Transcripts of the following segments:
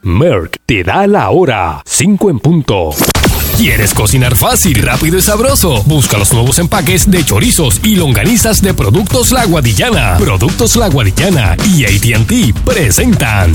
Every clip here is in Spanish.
Merck te da la hora, 5 en punto. ¿Quieres cocinar fácil, rápido y sabroso? Busca los nuevos empaques de chorizos y longanizas de Productos La Guadillana. Productos La Guadillana y AT&T presentan...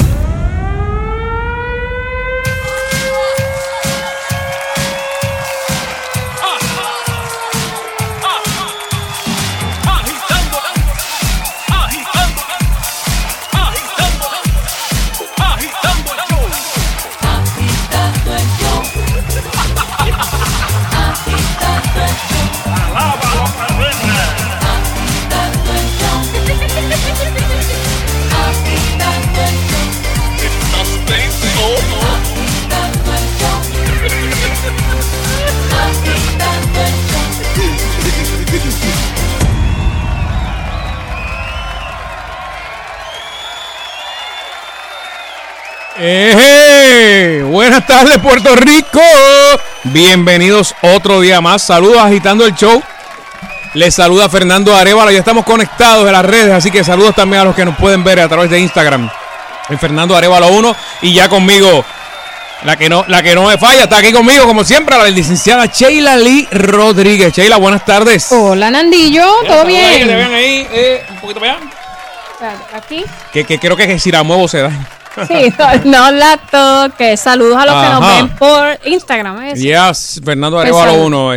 Buenas tardes, Puerto Rico. Bienvenidos otro día más. Saludos agitando el show. Les saluda Fernando Arevalo. Ya estamos conectados en las redes, así que saludos también a los que nos pueden ver a través de Instagram en Fernando Arevalo 1. Y ya conmigo, la que no me falla, está aquí conmigo como siempre, la licenciada Sheila Lee Rodríguez. Sheila, buenas tardes. Hola, Nandillo, ¿todo bien? Te vean ahí, un poquito para allá. Aquí. Que creo que si la muevo se da. Sí, no la toque. Saludos a los que nos ven por Instagram. Yes, Fernando Arevalo 1.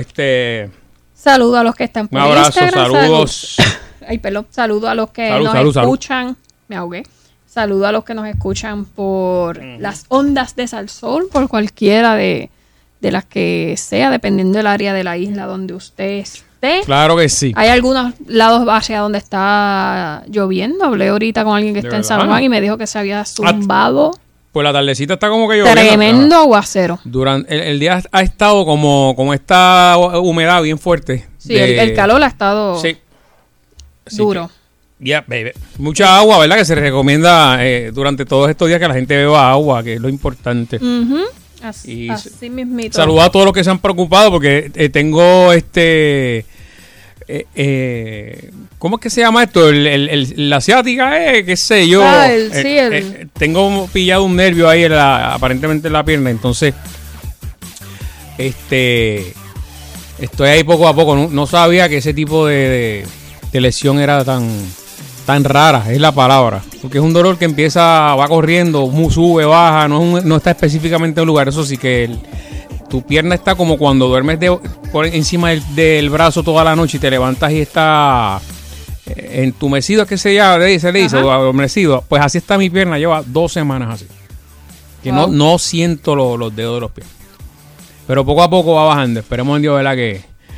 Saludos a los que están por un abrazo, Instagram. saludos. Ay, perdón. Saludos a los que nos escuchan. Me ahogué. Saludos a los que nos escuchan por las ondas de Salsol, por cualquiera de las que sea, dependiendo del área de la isla donde usted esté. Claro que sí. Hay algunos lados hacia donde está lloviendo. Hablé ahorita con alguien que está en San Juan y me dijo que se había zumbado. Pues la tardecita está como que lloviendo. Tremendo aguacero. Durante el día ha estado como esta humedad bien fuerte. Sí, el calor ha estado duro. Ya, baby. Mucha agua, ¿verdad? Que se recomienda durante todos estos días que la gente beba agua, que es lo importante. Así mismito. Saludos a todos los que se han preocupado porque tengo ¿cómo es que se llama esto? La ciática, qué sé yo. Tengo pillado un nervio ahí aparentemente en la pierna, entonces estoy ahí poco a poco. No sabía que ese tipo de lesión era tan rara, es la palabra, porque es un dolor que va corriendo, sube, baja, no está específicamente en un lugar. Eso sí que tu pierna está como cuando duermes por encima del brazo toda la noche y te levantas y está entumecido, es que se le dice, o adormecido. Pues así está mi pierna, lleva 2 semanas así, que no siento los dedos de los pies, pero poco a poco va bajando. Esperemos en Dios, ¿verdad? Que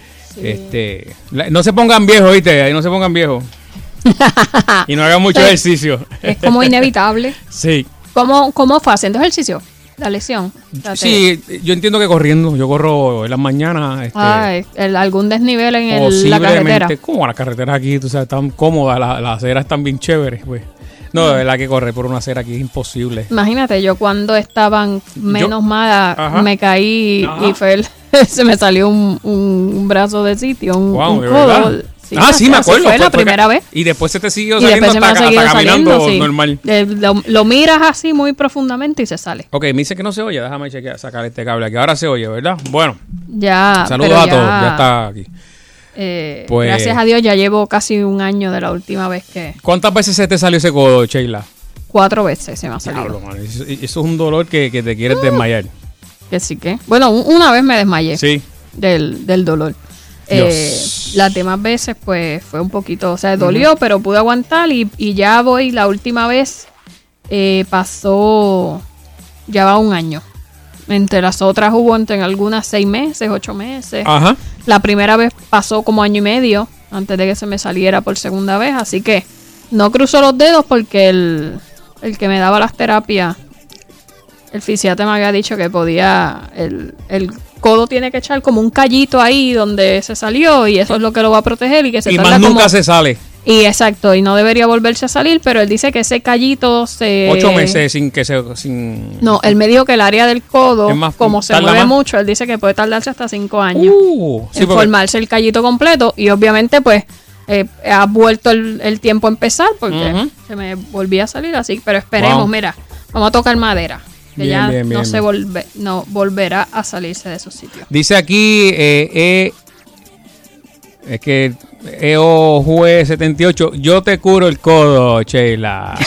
no se pongan viejos, ¿viste? Ahí no se pongan viejos. Y no hagan mucho ejercicio. Es como inevitable. Sí. ¿Cómo fue haciendo ejercicio? La lesión. Sí, yo entiendo que corriendo. Yo corro en las mañanas. ¿Algún desnivel en la carretera? Como las carreteras aquí, tú sabes, están cómodas, las aceras están bien chéveres, pues. No, de verdad que correr por una acera aquí es imposible. Imagínate, yo cuando estaban menos mal, me caí y se me salió un brazo de sitio, un codo. Sí, me acuerdo. Fue la primera vez. Y después se te siguió saliendo hasta caminando normal. Lo miras así muy profundamente y se sale. Ok, me dice que no se oye. Déjame sacar este cable aquí. Ahora se oye, ¿verdad? Bueno. Ya. Saludos a todos. Ya está aquí. Pues, gracias a Dios ya llevo casi un año de la última vez que... ¿Cuántas veces se te salió ese codo, Sheila? 4 veces se me ha salido. Diablo, man. Eso es un dolor que te quieres desmayar. Que sí que... Bueno, una vez me desmayé. Sí. Del dolor. Las demás veces pues fue un poquito, o sea, dolió, pero pude aguantar y ya la última vez pasó, ya va un año. Entre las otras hubo en algunas 6 meses, 8 meses. Ajá. La primera vez pasó como año y medio antes de que se me saliera por segunda vez, así que no cruzo los dedos porque el que me daba las terapias, el fisiatra me había dicho que podía, el codo tiene que echar como un callito ahí donde se salió y eso es lo que lo va a proteger y que se tarda más nunca se sale. Y exacto, y no debería volverse a salir, pero él dice que ese callito 8 meses sin... No, él me dijo que el área del codo, como se mueve mucho, él dice que puede tardarse hasta 5 años en formarse el callito completo y obviamente pues ha vuelto el tiempo a empezar porque se me volvía a salir así, pero esperemos, mira, vamos a tocar madera. que no volverá a salirse de esos sitios. Dice aquí, es que EOJUE 78, yo te curo el codo, Sheila.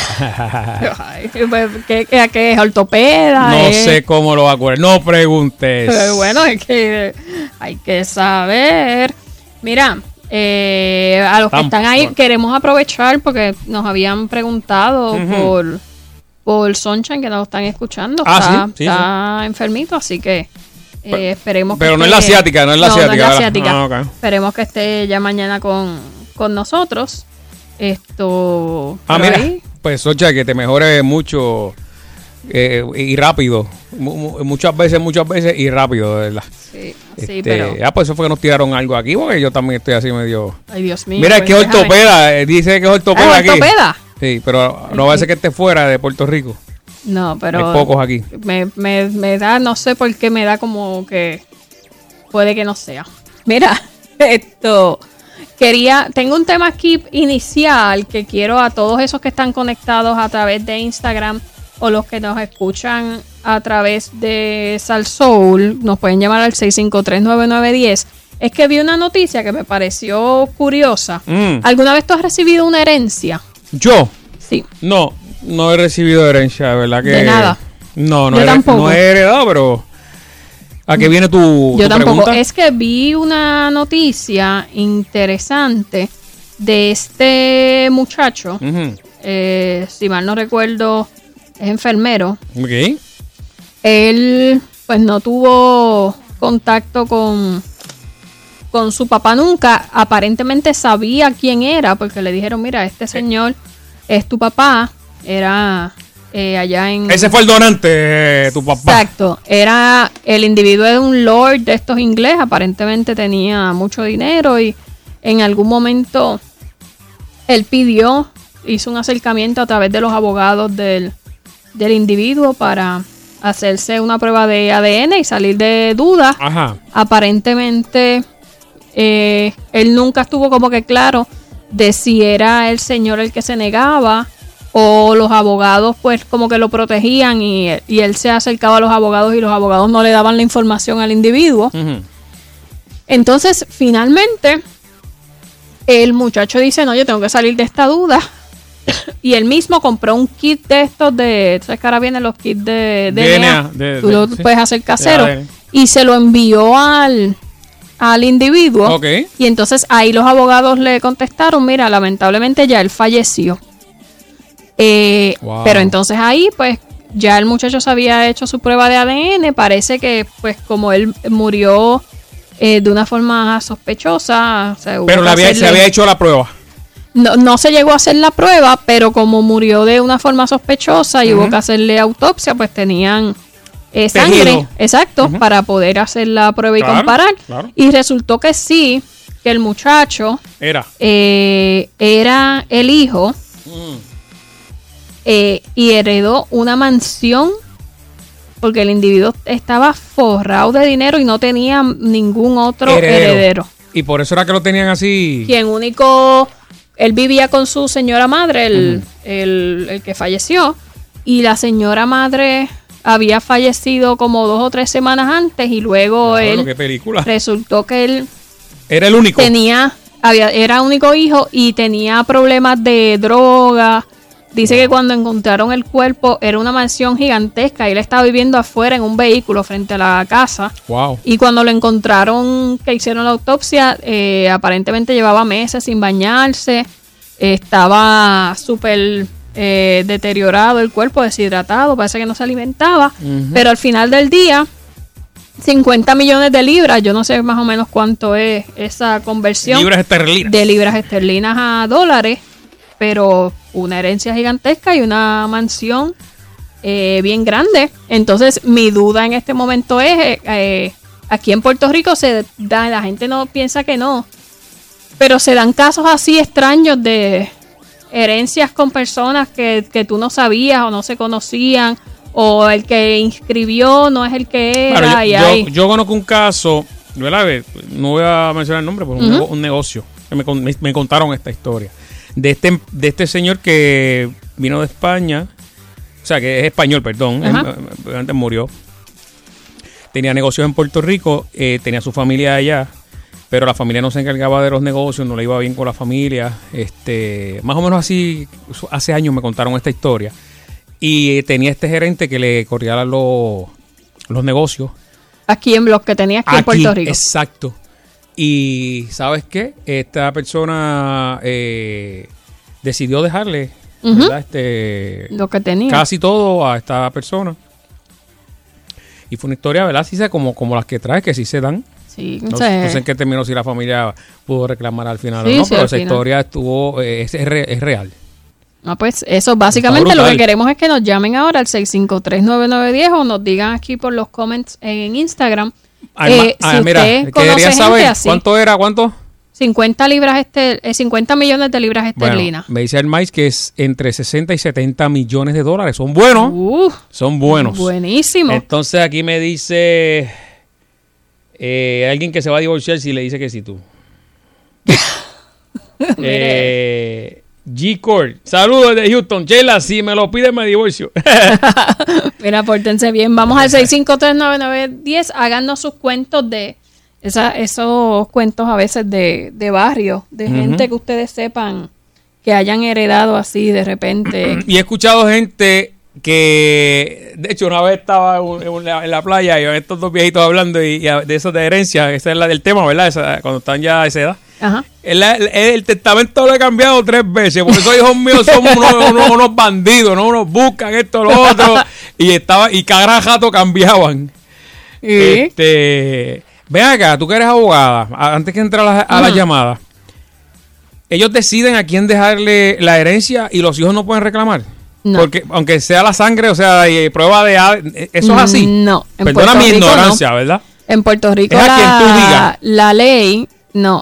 ¿Qué es? ¿Ortopeda? No sé cómo lo va a curar, no preguntes. Pero bueno, es que hay que saber. Mira, a los que están ahí, queremos aprovechar porque nos habían preguntado por Sunshine, que nos están escuchando. Está enfermito, así que esperemos pero que no es la asiática, no es la asiática. Okay. Esperemos que esté ya mañana con nosotros. Mira, ahí, pues Socha, que te mejore mucho y rápido. Muchas veces y rápido, de verdad. Sí, pero... pues eso fue que nos tiraron algo aquí, porque yo también estoy así medio... Ay, Dios mío. Mira, es que es ortopeda, dice que es ortopeda aquí. ¿Ortopeda? Sí, pero no va a ser que esté fuera de Puerto Rico. No, pero... Hay pocos aquí. Me da, no sé por qué me da como que... Puede que no sea. Mira, tengo un tema aquí inicial que quiero a todos esos que están conectados a través de Instagram o los que nos escuchan a través de Salsoul, nos pueden llamar al 653-9910. Es que vi una noticia que me pareció curiosa. ¿Alguna vez tú has recibido una herencia? Sí. No he recibido herencia, de verdad que... De nada. No he heredado, pero... ¿A qué viene tu tampoco. Pregunta? Es que vi una noticia interesante de este muchacho. Si mal no recuerdo, es enfermero. Ok. Él, pues, no tuvo contacto con su papá nunca. Aparentemente sabía quién era, porque le dijeron, mira, este señor es tu papá. Era... allá en... Ese fue el donante, tu papá. Exacto. Era el individuo de un lord de estos ingleses. Aparentemente tenía mucho dinero y en algún momento él hizo un acercamiento a través de los abogados del individuo para hacerse una prueba de ADN y salir de dudas. Ajá. Aparentemente él nunca estuvo como que claro de si era el señor el que se negaba o los abogados pues como que lo protegían y él se acercaba a los abogados y los abogados no le daban la información al individuo. Entonces finalmente el muchacho dice, no, yo tengo que salir de esta duda. Y él mismo compró un kit de estos ¿sabes que ahora vienen los kits de DNA? Tú lo puedes hacer casero. Y se lo envió al individuo. Okay. Y entonces ahí los abogados le contestaron, mira, lamentablemente ya él falleció. Wow. Pero entonces ahí pues ya el muchacho se había hecho su prueba de ADN. Parece que pues como él murió de una forma sospechosa, pero se había hecho la prueba. No se llegó a hacer la prueba, pero como murió de una forma sospechosa y hubo que hacerle autopsia, pues tenían sangre, exacto, para poder hacer la prueba y comparar. Claro. Y resultó que sí, que el muchacho era el hijo y heredó una mansión porque el individuo estaba forrado de dinero y no tenía ningún otro heredero. Y por eso era que lo tenían así. Él vivía con su señora madre, el que falleció, y la señora madre había fallecido como 2 o 3 semanas antes y luego resultó que él era el único. Era único hijo y tenía problemas de droga. Dice que cuando encontraron el cuerpo era una mansión gigantesca y él estaba viviendo afuera en un vehículo frente a la casa. Wow. Y cuando lo encontraron, que hicieron la autopsia, aparentemente llevaba meses sin bañarse, estaba súper deteriorado el cuerpo, deshidratado, parece que no se alimentaba, pero al final del día, 50 millones de libras, yo no sé más o menos cuánto es esa conversión de libras esterlinas a dólares, pero una herencia gigantesca y una mansión bien grande. Entonces mi duda en este momento es, aquí en Puerto Rico la gente no piensa que no, pero se dan casos así extraños de herencias con personas que tú no sabías o no se conocían, o el que inscribió no es el que era. Bueno, yo conozco un caso, no voy a mencionar el nombre, pero un negocio, me contaron esta historia. De este señor que vino de España, sea, que es español, perdón, antes murió. Tenía negocios en Puerto Rico, tenía su familia allá, pero la familia no se encargaba de los negocios, no le iba bien con la familia. Más o menos así, hace años me contaron esta historia. Y tenía este gerente que le corría los negocios. Aquí en los que tenía aquí en Puerto Rico. Exacto. Y ¿sabes qué? Esta persona decidió dejarle, ¿verdad? Lo que tenía. Casi todo a esta persona. Y fue una historia, ¿verdad? Sí, como las que trae, que sí se dan. Sí, no sé en qué términos si la familia pudo reclamar al final o no, pero esa historia estuvo, es real. No, pues eso básicamente lo que queremos es que nos llamen ahora al 653-9910 o nos digan aquí por los comments en Instagram. Mira, quería saber así, ¿cuánto? 50 millones de libras esterlinas. Bueno, me dice el maíz que es entre 60 y 70 millones de dólares. Son buenos. Son buenos. Buenísimo. Entonces aquí me dice alguien que se va a divorciar si le dice que sí tú. G-Cord, saludos desde Houston. Sheila, si me lo pide me divorcio. Mira, pórtense bien. Vamos al 6539910. Háganos sus cuentos de esos cuentos a veces de barrio, de gente que ustedes sepan que hayan heredado así de repente. Y he escuchado gente que, de hecho, una vez estaba en la playa y estos dos viejitos hablando y de eso de herencia. Esa es la del tema, ¿verdad? Cuando están ya a esa edad. Ajá. El testamento lo he cambiado 3 veces, porque esos hijos míos son unos bandidos, ¿no? Unos buscan esto, lo otro, y cada rato cambiaban. Ven acá, tú que eres abogada, antes que entrar a la llamada, ellos deciden a quién dejarle la herencia y los hijos no pueden reclamar. No. Porque aunque sea la sangre, o sea, prueba de eso es así. No. Perdona mi ignorancia, ¿verdad? En Puerto Rico es a quien tú digas. La ley, no.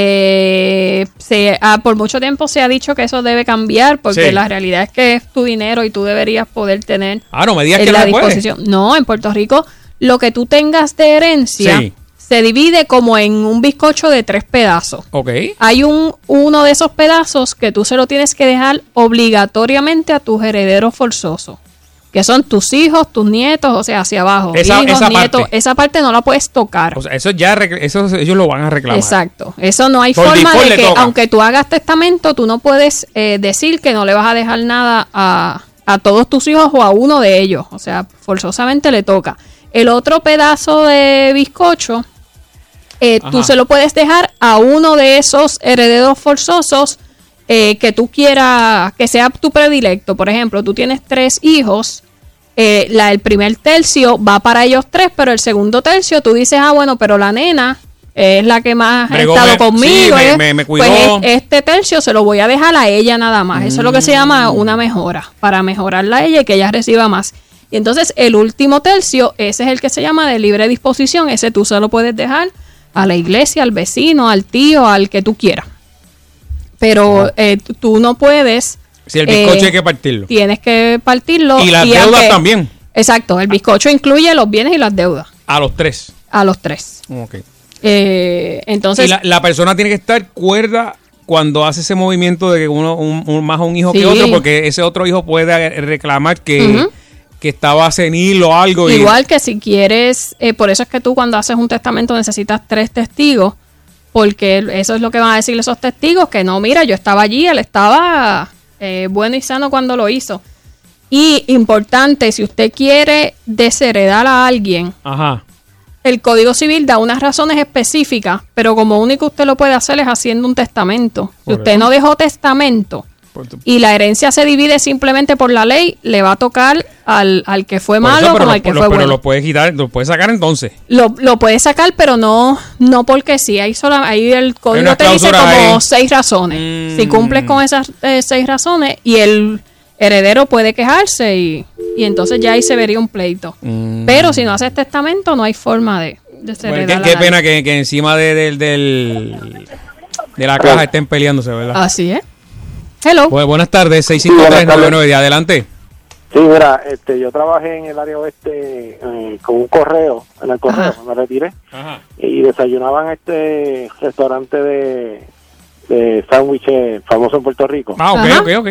Por mucho tiempo se ha dicho que eso debe cambiar porque la realidad es que es tu dinero y tú deberías poder tener no me digas que la disposición. Puede. No, en Puerto Rico lo que tú tengas de herencia se divide como en un bizcocho de 3 pedazos. Okay. Hay uno de esos pedazos que tú se lo tienes que dejar obligatoriamente a tus herederos forzosos, que son tus hijos, tus nietos, o sea, hacia abajo. Esa nietos, esa parte no la puedes tocar. O sea, eso ellos lo van a reclamar. Exacto. Eso no hay forma de que, aunque tú hagas testamento, tú no puedes decir que no le vas a dejar nada a todos tus hijos o a uno de ellos. O sea, forzosamente le toca. El otro pedazo de bizcocho, tú se lo puedes dejar a uno de esos herederos forzosos que tú quieras, que sea tu predilecto. Por ejemplo, tú tienes 3 hijos, el primer tercio va para ellos 3, pero el segundo tercio tú dices, bueno, pero la nena es la que más ha estado conmigo. Sí, me cuidó. Pues este tercio se lo voy a dejar a ella nada más. Eso es lo que se llama una mejora, para mejorarla a ella y que ella reciba más. Y entonces el último tercio, ese es el que se llama de libre disposición. Ese tú se lo puedes dejar a la iglesia, al vecino, al tío, al que tú quieras. Pero tú no puedes... Si el bizcocho hay que partirlo. Tienes que partirlo. Y las deudas también. Exacto, el bizcocho incluye los bienes y las deudas. A los 3. A los 3. Ok. Entonces... Y la persona tiene que estar cuerda cuando hace ese movimiento de que uno más un hijo que otro, porque ese otro hijo puede reclamar que estaba senil o algo. Igual que si quieres, por eso es que tú cuando haces un testamento necesitas 3 testigos, porque eso es lo que van a decir esos testigos, que no, mira, yo estaba allí, él estaba bueno y sano cuando lo hizo. Y importante, si usted quiere desheredar a alguien, el Código Civil da unas razones específicas, pero como único usted lo puede hacer es haciendo un testamento. Si usted no dejó testamento y la herencia se divide simplemente por la ley, le va a tocar al que fue malo como al que fue bueno. Pero lo puedes quitar, lo puedes sacar entonces. Lo puedes sacar, pero no porque sí. Ahí el código te dice como 6 razones. Si cumples con esas 6 razones y el heredero puede quejarse y entonces ya ahí se vería un pleito. Pero si no haces testamento no hay forma de heredar. Qué pena que encima de la caja estén peleándose, ¿verdad? Así es. Hello. Pues, buenas tardes, 653-9910, adelante. Sí, mira, yo trabajé en el área oeste con un correo, en el correo, me retiré, y desayunaba en este restaurante de sándwiches famoso en Puerto Rico. Ok.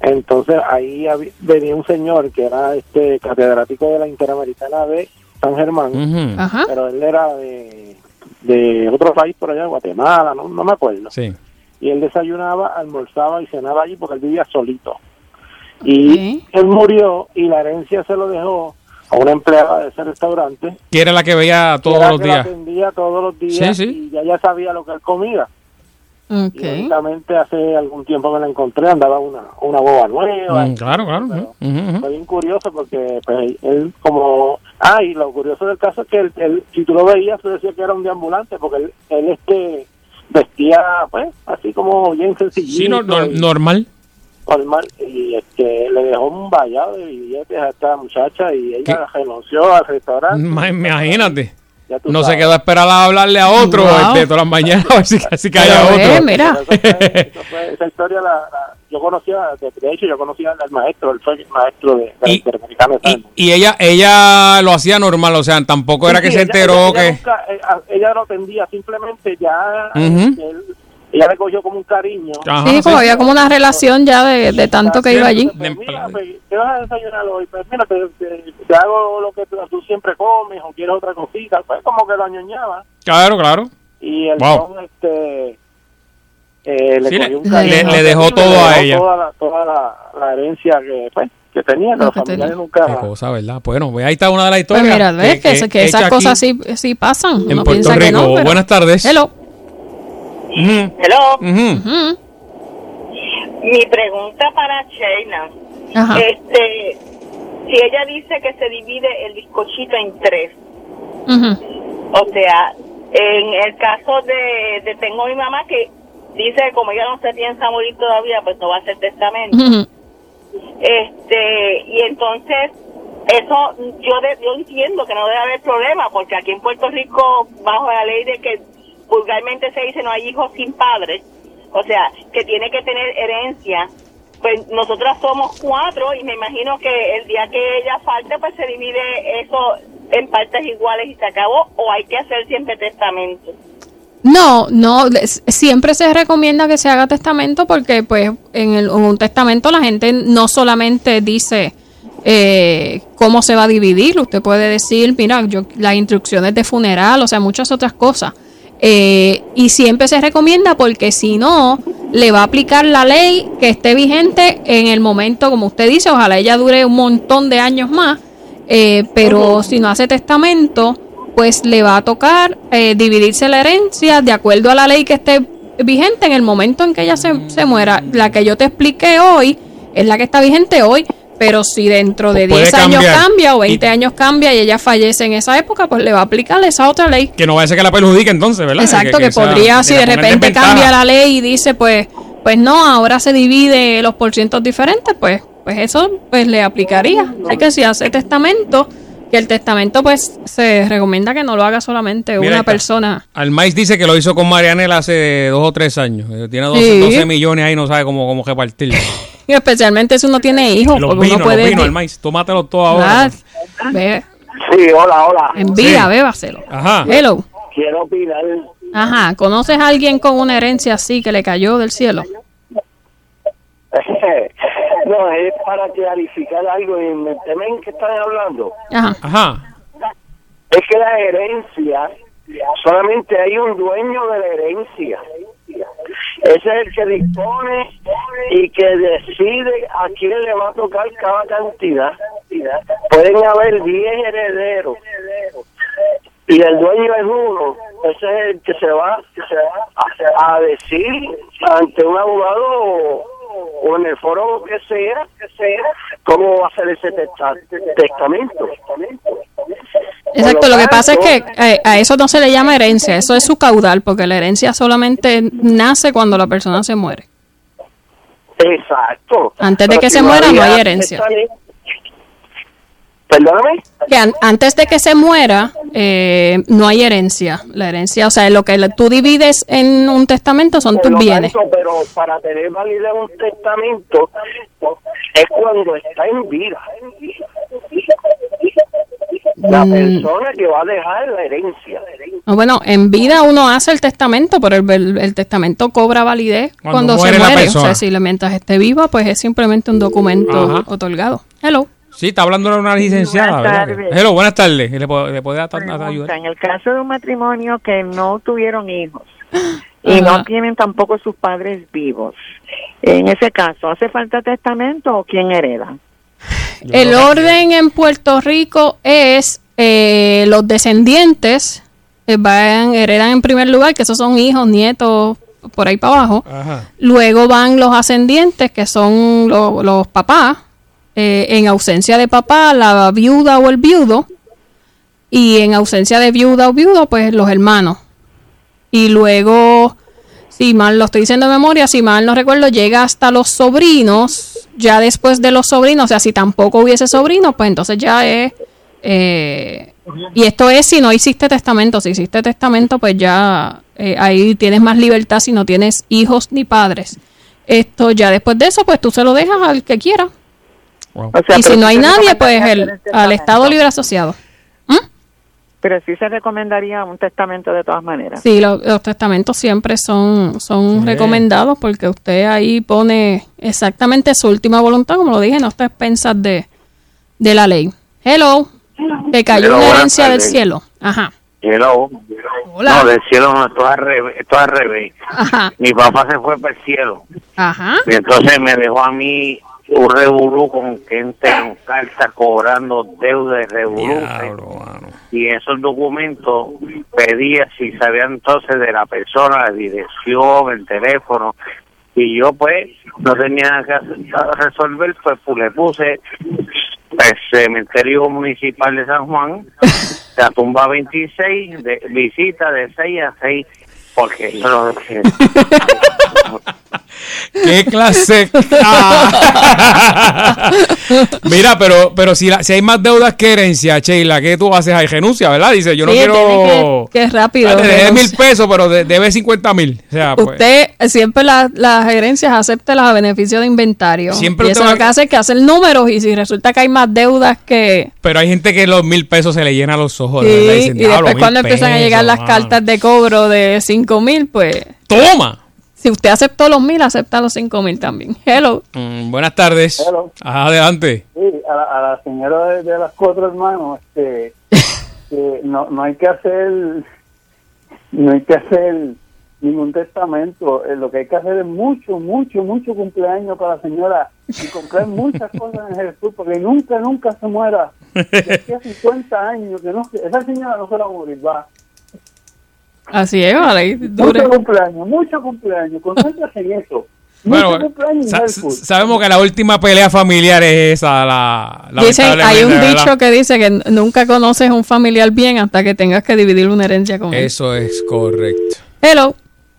Entonces ahí venía un señor que era catedrático de la Interamericana de San Germán, pero él era de otro país por allá, Guatemala, no me acuerdo. Sí. Y él desayunaba, almorzaba y cenaba allí porque él vivía solito. Y él murió y la herencia se lo dejó a una empleada de ese restaurante. Que era la que veía todos los días. Que atendía todos los días, y ya sabía lo que él comía. Y únicamente hace algún tiempo que la encontré, andaba una boba nueva. Claro. Fue bien curioso porque pues, él como... y lo curioso del caso es que él, si tú lo veías, tú decías que era un deambulante, porque él vestía, pues, así como bien sencillito. Sí, normal. Y le dejó un vallado de billetes a esta muchacha y ella renunció al restaurante. Imagínate. No se quedó a esperar a hablarle a otro todas las mañanas, a ver si cae a otro. Mira. Esa historia yo conocía al maestro, él fue el maestro de la Interamericana. Y ella lo hacía normal, o sea, tampoco era que se enteró que... Ella lo atendía, simplemente ya... Ella le cogió como un cariño. Sí, como había como una relación ya de tanto que iba allí. Mira, ¿qué vas a desayunar hoy? Pues mira, te hago lo que tú siempre comes o quieres otra cosita. Pues como que lo añoñaba. Claro. Y el don, le dejó todo a ella. Toda la herencia que tenía, que los familiares nunca... Qué cosa, ¿verdad? Bueno, ahí está una de las historias. Pues mira, ves que esas cosas sí pasan. En Puerto Rico. Que no, pero... Buenas tardes. Hello. Hello. Mi pregunta para Sheila. Si ella dice que se divide el bizcochito en 3, o sea, en el caso de tengo mi mamá que dice que como ella no se piensa morir todavía, pues no va a hacer testamento. Y entonces eso yo entiendo que no debe haber problema, porque aquí en Puerto Rico, bajo la ley de que vulgarmente se dice no hay hijos sin padres, o sea, que tiene que tener herencia, pues nosotras somos 4 y me imagino que el día que ella falte, pues se divide eso en partes iguales y se acabó, o hay que hacer siempre testamento. No, siempre se recomienda que se haga testamento porque pues en un testamento la gente no solamente dice cómo se va a dividir, usted puede decir, mira, las instrucciones de funeral, o sea, muchas otras cosas. Y siempre se recomienda porque si no, le va a aplicar la ley que esté vigente en el momento, como usted dice, ojalá ella dure un montón de años más, pero si no hace testamento, pues le va a tocar dividirse la herencia de acuerdo a la ley que esté vigente en el momento en que ella se muera. La que yo te expliqué hoy es la que está vigente hoy. Pero si dentro de 10 años cambia o 20 años cambia y ella fallece en esa época, pues le va a aplicar esa otra ley. Que no vaya a ser que la perjudique entonces, ¿verdad? Exacto, que podría, si de repente cambia la ley y dice, pues no, ahora se divide los porcientos diferentes, pues eso pues le aplicaría. Así que si hace testamento, que el testamento pues se recomienda que no lo haga solamente una persona. Almais dice que lo hizo con Marianela hace 2 o 3 años. Tiene 12 millones ahí, no sabe cómo repartirlo. Y especialmente si uno tiene hijos. Los vinos, Almais, tómatelos todos ahora. Ve. Sí, hola. Envía, bébaselo. Ajá. Hello. Quiero opinar. Ajá, ¿conoces a alguien con una herencia así que le cayó del cielo? No, es para clarificar algo en el tema en que están hablando. Ajá. Es que la herencia, solamente hay un dueño de la herencia. Ese es el que dispone y que decide a quién le va a tocar cada cantidad. Pueden haber 10 herederos y el dueño es uno. Ese es el que se va a decir ante un abogado o en el foro que sea cómo va a ser ese testamento. Exacto, lo que pasa es que a eso no se le llama herencia, eso es su caudal, porque la herencia solamente nace cuando la persona se muere. Exacto. Antes de que se muera no hay herencia. Perdóname. Que antes de que se muera no hay herencia. La herencia, o sea, lo que tú divides en un testamento son tus bienes. Pero para tener validez un testamento es cuando está en vida. La persona que va a dejar la herencia. Bueno, en vida uno hace el testamento, pero el testamento cobra validez cuando se muere. O sea, mientras esté viva, pues es simplemente un documento otorgado. Hello. Sí, está hablando de una licenciada. Buenas tardes. Hello, buenas tardes. ¿Le puede ayudar? En el caso de un matrimonio que no tuvieron hijos y no tienen tampoco sus padres vivos, en ese caso, ¿hace falta testamento o quién hereda? El orden en Puerto Rico es los descendientes heredan en primer lugar, que esos son hijos, nietos, por ahí para abajo. Ajá. Luego van los ascendientes, que son los papás. En ausencia de papá, la viuda o el viudo. Y en ausencia de viuda o viudo, pues los hermanos. Y luego, si mal lo estoy diciendo de memoria, si mal no recuerdo, llega hasta los sobrinos. Ya después de los sobrinos, o sea, si tampoco hubiese sobrinos, pues entonces ya es... y esto es si no hiciste testamento. Si hiciste testamento, pues ya ahí tienes más libertad si no tienes hijos ni padres. Esto ya después de eso, pues tú se lo dejas al que quiera. Wow. O sea, y si no hay nadie, pues al Estado Libre Asociado. Pero sí se recomendaría un testamento de todas maneras. Sí, los testamentos siempre son recomendados porque usted ahí pone exactamente su última voluntad, como lo dije, no está a expensas de la ley. Hello. Te cayó una herencia del cielo. Ajá. Hello. Hola. No, del cielo no, esto es al revés. Ajá. Mi papá se fue para el cielo. Ajá. Y entonces me dejó a mí un revolú con gente en carta cobrando deuda de revolú. Y esos documentos pedía si sabían entonces de la persona, la dirección, el teléfono. Y yo pues no tenía que resolver, pues le puse el cementerio municipal de San Juan, la tumba 26, de visita de 6 a 6, porque eso no es... ¿Qué clase? Mira, pero si hay más deudas que herencia, Sheila, ¿qué tú haces ahí? Renuncia, ¿verdad? Dice, yo no quiero... Que rápido. Te debe 1,000 pesos, pero debe 50,000. O sea, usted siempre las herencias acéptelas a beneficio de inventario. Siempre y eso lo que hace es que hacen números y si resulta que hay más deudas que... Pero hay gente que los 1,000 pesos se le llenan los ojos. Sí, ¿verdad? Dicen, y después cuando empiezan a llegar las cartas de cobro de 5,000, pues... ¡Toma! Si usted aceptó los 1,000, acepta los 5,000 también. Hello. Buenas tardes. Hello. Adelante. Sí, a la señora de las 4 hermanos, que no hay que hacer ningún testamento. Lo que hay que hacer es mucho cumpleaños para la señora y comprar muchas cosas en Jesús, porque nunca se muera. De aquí a 50 años, esa señora no se va a morir, va. Así es, vale. Mucho cumpleaños, concéntrate en eso. Bueno, sabemos que la última pelea familiar es esa. Dicen, hay un dicho que dice que nunca conoces a un familiar bien hasta que tengas que dividir una herencia con él. Eso es correcto. Hello.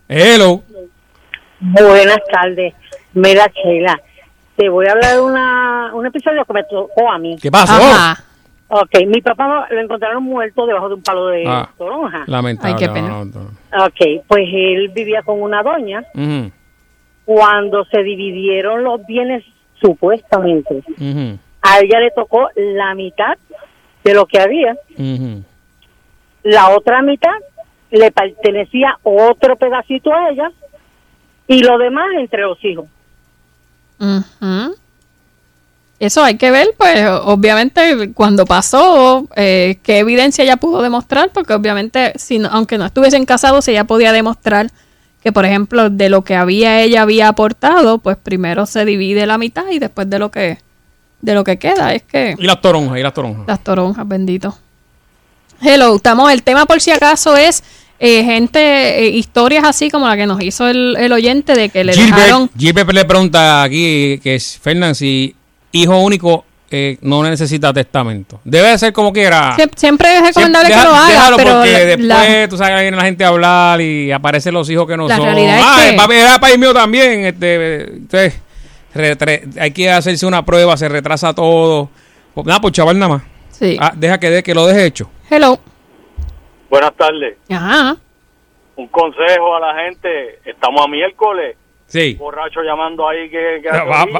Buenas tardes. Mira, Sheila, te voy a hablar de un episodio que me tocó a mí. ¿Qué pasó? Ajá. Ok, mi papá lo encontraron muerto debajo de un palo de toronja. Lamentable. Ay, qué pena. Ok, pues él vivía con una doña. Uh-huh. Cuando se dividieron los bienes, supuestamente, uh-huh, a ella le tocó la mitad de lo que había. Uh-huh. La otra mitad le pertenecía otro pedacito a ella y lo demás entre los hijos. Uh-huh. Eso hay que ver, pues, obviamente, cuando pasó, qué evidencia ella pudo demostrar, porque obviamente, aunque no estuviesen casados, ella podía demostrar que, por ejemplo, de lo que ella había aportado, pues primero se divide la mitad y después de lo que queda, es que... Y las toronjas. Las toronjas, bendito. Hello, el tema por si acaso es historias así como la que nos hizo el oyente de que le dejaron... Gilbert le pregunta aquí, que es Fernan, si hijo único no necesita testamento. Debe de ser como quiera. Siempre es recomendable que lo haga. Déjalo, pero porque después tú sabes que viene la gente a hablar y aparecen los hijos que no son. La realidad es que... papi era país mío también. Hay que hacerse una prueba, se retrasa todo. Pues chaval nada más. Sí. Deja que lo deje hecho. Hello. Buenas tardes. Ajá. Un consejo a la gente. Estamos a miércoles. Sí. Borracho llamando ahí que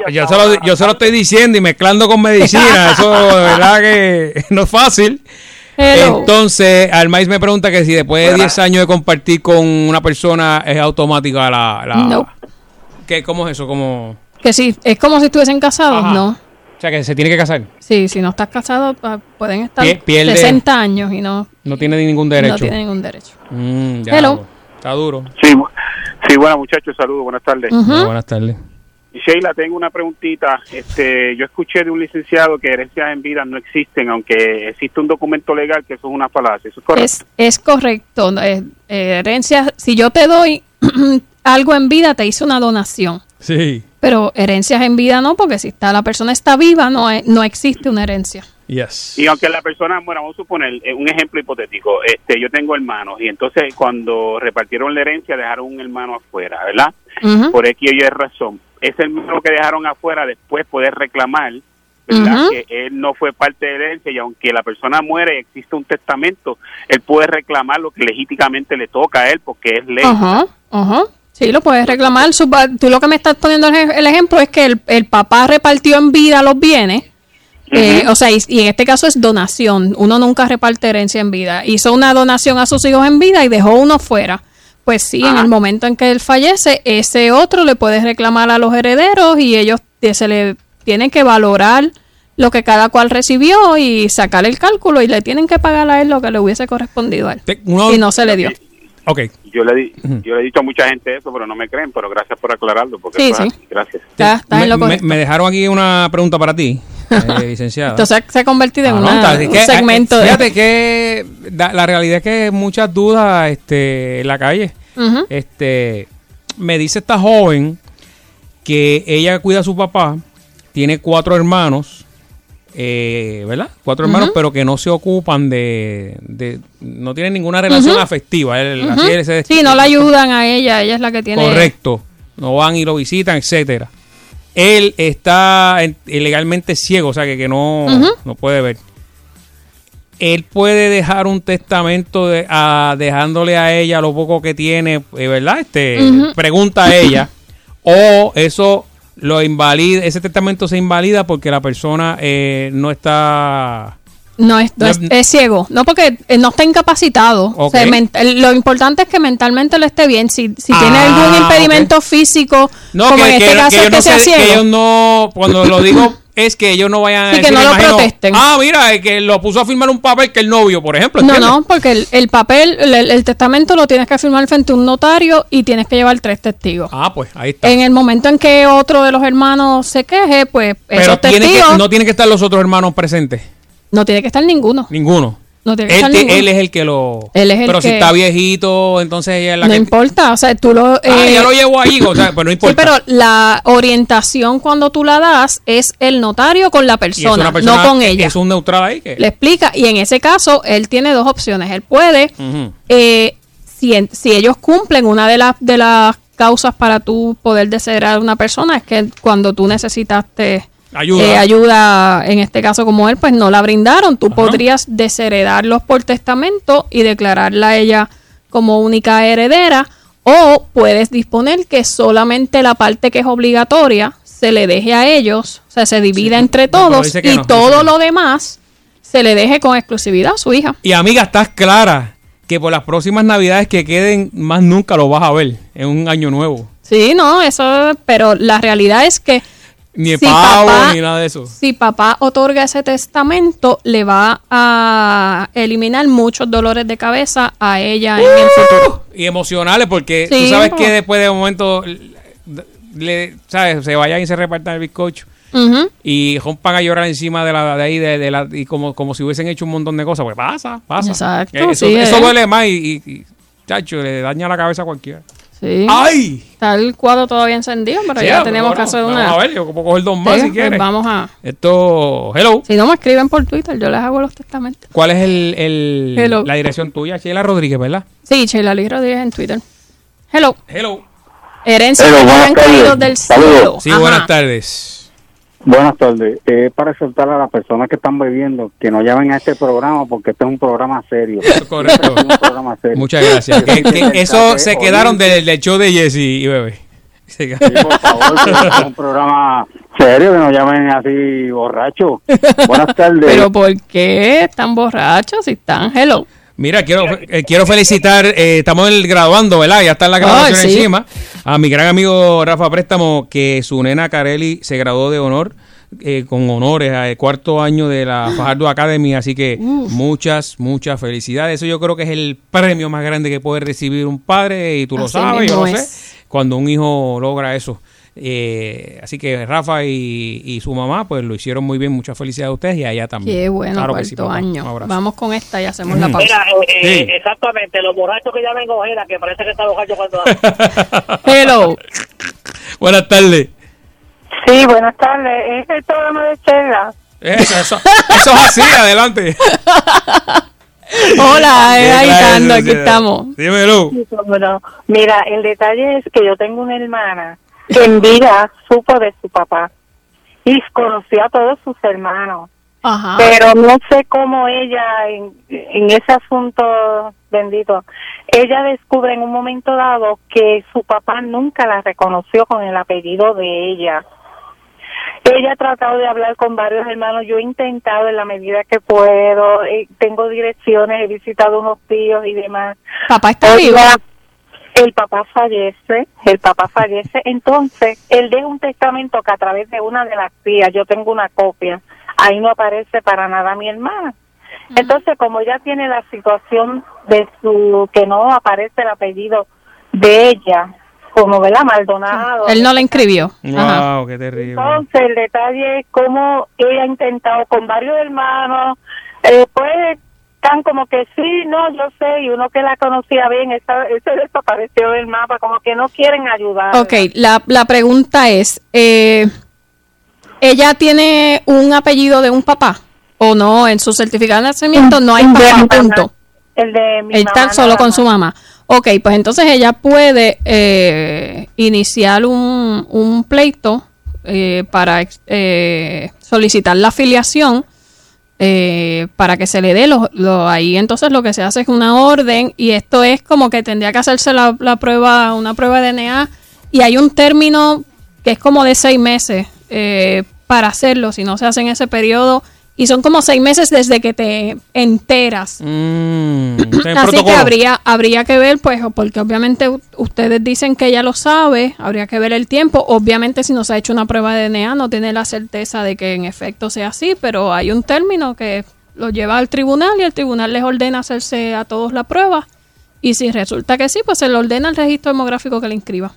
yo se lo estoy diciendo y mezclando con medicina. Eso de verdad que no es fácil. Entonces, Almais me pregunta que si después de 10 años de compartir con una persona es automática No. ¿Cómo es eso? ¿Cómo? Que sí, es como si estuviesen casados, Ajá. ¿no? O sea, que se tiene que casar. Sí, si no estás casado, pueden estar Pierde, 60 años y no tiene ningún derecho. No tiene ningún derecho. Ya, Hello. Está duro. Sí, bueno, muchachos, saludos, buenas tardes. Buenas tardes. Sheila, tengo una preguntita. Yo escuché de un licenciado que herencias en vida no existen, aunque existe un documento legal que eso es una falacia. ¿Eso es correcto? Es correcto. Herencias, si yo te doy algo en vida, te hice una donación. Sí. Pero herencias en vida no, porque si la persona está viva, no existe una herencia. Yes. Y aunque la persona, bueno, vamos a suponer un ejemplo hipotético, yo tengo hermanos y entonces cuando repartieron la herencia dejaron un hermano afuera, ¿verdad? Por X o Y razón. Ese hermano que dejaron afuera después poder reclamar, ¿verdad? Que él no fue parte de la herencia y aunque la persona muere y existe un testamento, él puede reclamar lo que legítimamente le toca a él porque es ley. Sí, lo puedes reclamar. Tú lo que me estás poniendo el ejemplo es que el papá repartió en vida los bienes. O sea, y en este caso es donación. Uno nunca reparte herencia en vida. Hizo una donación a sus hijos en vida y dejó uno fuera. Pues sí, en el momento en que él fallece, ese otro le puede reclamar a los herederos y ellos se le tienen que valorar lo que cada cual recibió y sacar el cálculo y le tienen que pagar a él lo que le hubiese correspondido a él. Y no se le dio. Okay. Yo le he dicho a mucha gente eso, pero no me creen, pero gracias por aclararlo. Porque sí. Gracias. Me dejaron aquí una pregunta para ti, licenciada. Entonces se ha convertido en un segmento. Fíjate que la realidad es que hay muchas dudas en la calle. Me dice esta joven que ella cuida a su papá, tiene 4 hermanos, ¿verdad? 4 hermanos, pero que no se ocupan no tienen ninguna relación afectiva. Sí, no la ayudan a ella es la que tiene. Correcto, no van y lo visitan, etcétera. Él está ilegalmente ciego, o sea que no puede ver. Él puede dejar un testamento dejándole a ella lo poco que tiene, ¿verdad? Pregunta a ella, o eso lo invalida, ese testamento se invalida porque la persona no está... Es ciego, no porque no está incapacitado. Okay. O sea, lo importante es que mentalmente lo esté bien. Si tiene algún impedimento físico, como en este caso es que sea ciego. Que ellos no, cuando lo digo es que ellos no vayan a decir, que no lo protesten. Mira, que lo puso a firmar un papel que el novio, por ejemplo. No, porque el papel, el testamento lo tienes que firmar frente a un notario y tienes que llevar 3 testigos. Pues ahí está. En el momento en que otro de los hermanos se queje, pues esos testigos... no tienen que estar los otros hermanos presentes. No tiene que estar ninguno. No tiene que estar ninguno. Él es el que lo... Pero si está viejito, entonces ella es la no importa, o sea, tú lo... ya lo llevo ahí, o sea, pero no importa. Sí, pero la orientación cuando tú la das es el notario con la persona, no con ella. Es un neutral ahí que... Le explica, y en ese caso, él tiene 2 opciones. Él puede, si ellos cumplen una de las causas para tú poder desheredar a una persona, es que cuando tú necesitaste... ayuda, en este caso como él, pues no la brindaron. Tú podrías desheredarlos por testamento y declararla a ella como única heredera, o puedes disponer que solamente la parte que es obligatoria se le deje a ellos, o sea, se divida entre todos y todo lo demás se le deje con exclusividad a su hija. Y amiga, estás clara que por las próximas navidades que queden, más nunca lo vas a ver en un año nuevo. Sí, no, eso, pero la realidad es que ni pavo, ni nada de eso. Si papá otorga ese testamento, le va a eliminar muchos dolores de cabeza a ella en el futuro. Y emocionales, porque tú sabes que después de un momento, ¿sabes? Se vayan y se repartan el bizcocho. Y rompan a llorar encima de ahí, y como si hubiesen hecho un montón de cosas. Pues pasa. Exacto. Eso duele más y chacho, le daña la cabeza a cualquiera. Sí. ¡Ay! Está el cuadro todavía encendido, pero ya tenemos que hacer una... Vamos a ver, yo puedo coger 2 más si quieres. Pues vamos a... Hello. Si no me escriben por Twitter, yo les hago los testamentos. ¿Cuál es la dirección tuya? Sheila Rodríguez, ¿verdad? Sí, Sheila Luis Rodríguez en Twitter. Hello. Herencia del cielo. Sí, buenas tardes. Buenas tardes. Para exhortar a las personas que están bebiendo que no llamen a este programa porque este es un programa serio. Correcto. Muchas gracias. Eso se quedaron del show de Jesse y Bebé. Sí, por favor, que es un programa serio, que nos llamen así borrachos. Buenas tardes. ¿Pero por qué están borrachos si están? Hello. Mira, quiero felicitar, estamos graduando, ¿verdad? Ya está la graduación encima. A mi gran amigo Rafa Préstamo, que su nena Carely se graduó de honor, con honores al cuarto año de la Fajardo Academy. Así que muchas felicidades. Eso yo creo que es el premio más grande que puede recibir un padre, y tú lo sabes, yo lo sé, cuando un hijo logra eso. Así que Rafa y su mamá pues lo hicieron muy bien. Muchas felicidades a ustedes y a ella también. Qué bueno, claro, cuarto año. Vamos con esta y hacemos la pausa. Mira, exactamente, los borrachos que llamen ojera, que parece que está borracho cuando... Hello. Buenas tardes. Sí, buenas tardes. Es el programa de Chela. Eso es así, adelante. Hola, agitando, aquí estamos. Dímelo. Bueno, mira, el detalle es que yo tengo una hermana que en vida supo de su papá y conoció a todos sus hermanos. Ajá. Pero no sé cómo ella, en ese asunto bendito, ella descubre en un momento dado que su papá nunca la reconoció con el apellido de ella. Ella ha tratado de hablar con varios hermanos, yo he intentado en la medida que puedo, tengo direcciones, he visitado unos tíos y demás. ¿Papá está vivo? El papá fallece, entonces él deja un testamento que a través de una de las tías, yo tengo una copia, ahí no aparece para nada mi hermana. Entonces, como ella tiene la situación de que no aparece el apellido de ella, como ¿verdad? Maldonado. Él no la inscribió. Wow, qué terrible. Entonces, el detalle es cómo ella ha intentado con varios hermanos, pues están como que sí, no, yo sé, y uno que la conocía bien, ese desapareció del mapa, como que no quieren ayudar. Ok, la pregunta es, ¿ella tiene un apellido de un papá? ¿O no? En su certificado de nacimiento no hay papá, punto. El de mi mamá. Está solo con su mamá. Ok, pues entonces ella puede iniciar un pleito para solicitar la afiliación para que se le dé ahí. Entonces lo que se hace es una orden, y esto es como que tendría que hacerse una prueba de DNA, y hay un término que es como de 6 meses para hacerlo, si no se hace en ese periodo. Y son como 6 meses desde que te enteras. Así que habría que ver, pues, porque obviamente ustedes dicen que ella lo sabe, habría que ver el tiempo. Obviamente, si no se ha hecho una prueba de DNA, no tiene la certeza de que en efecto sea así, pero hay un término que lo lleva al tribunal y el tribunal les ordena hacerse a todos la prueba. Y si resulta que sí, pues se le ordena el registro demográfico que le inscriba.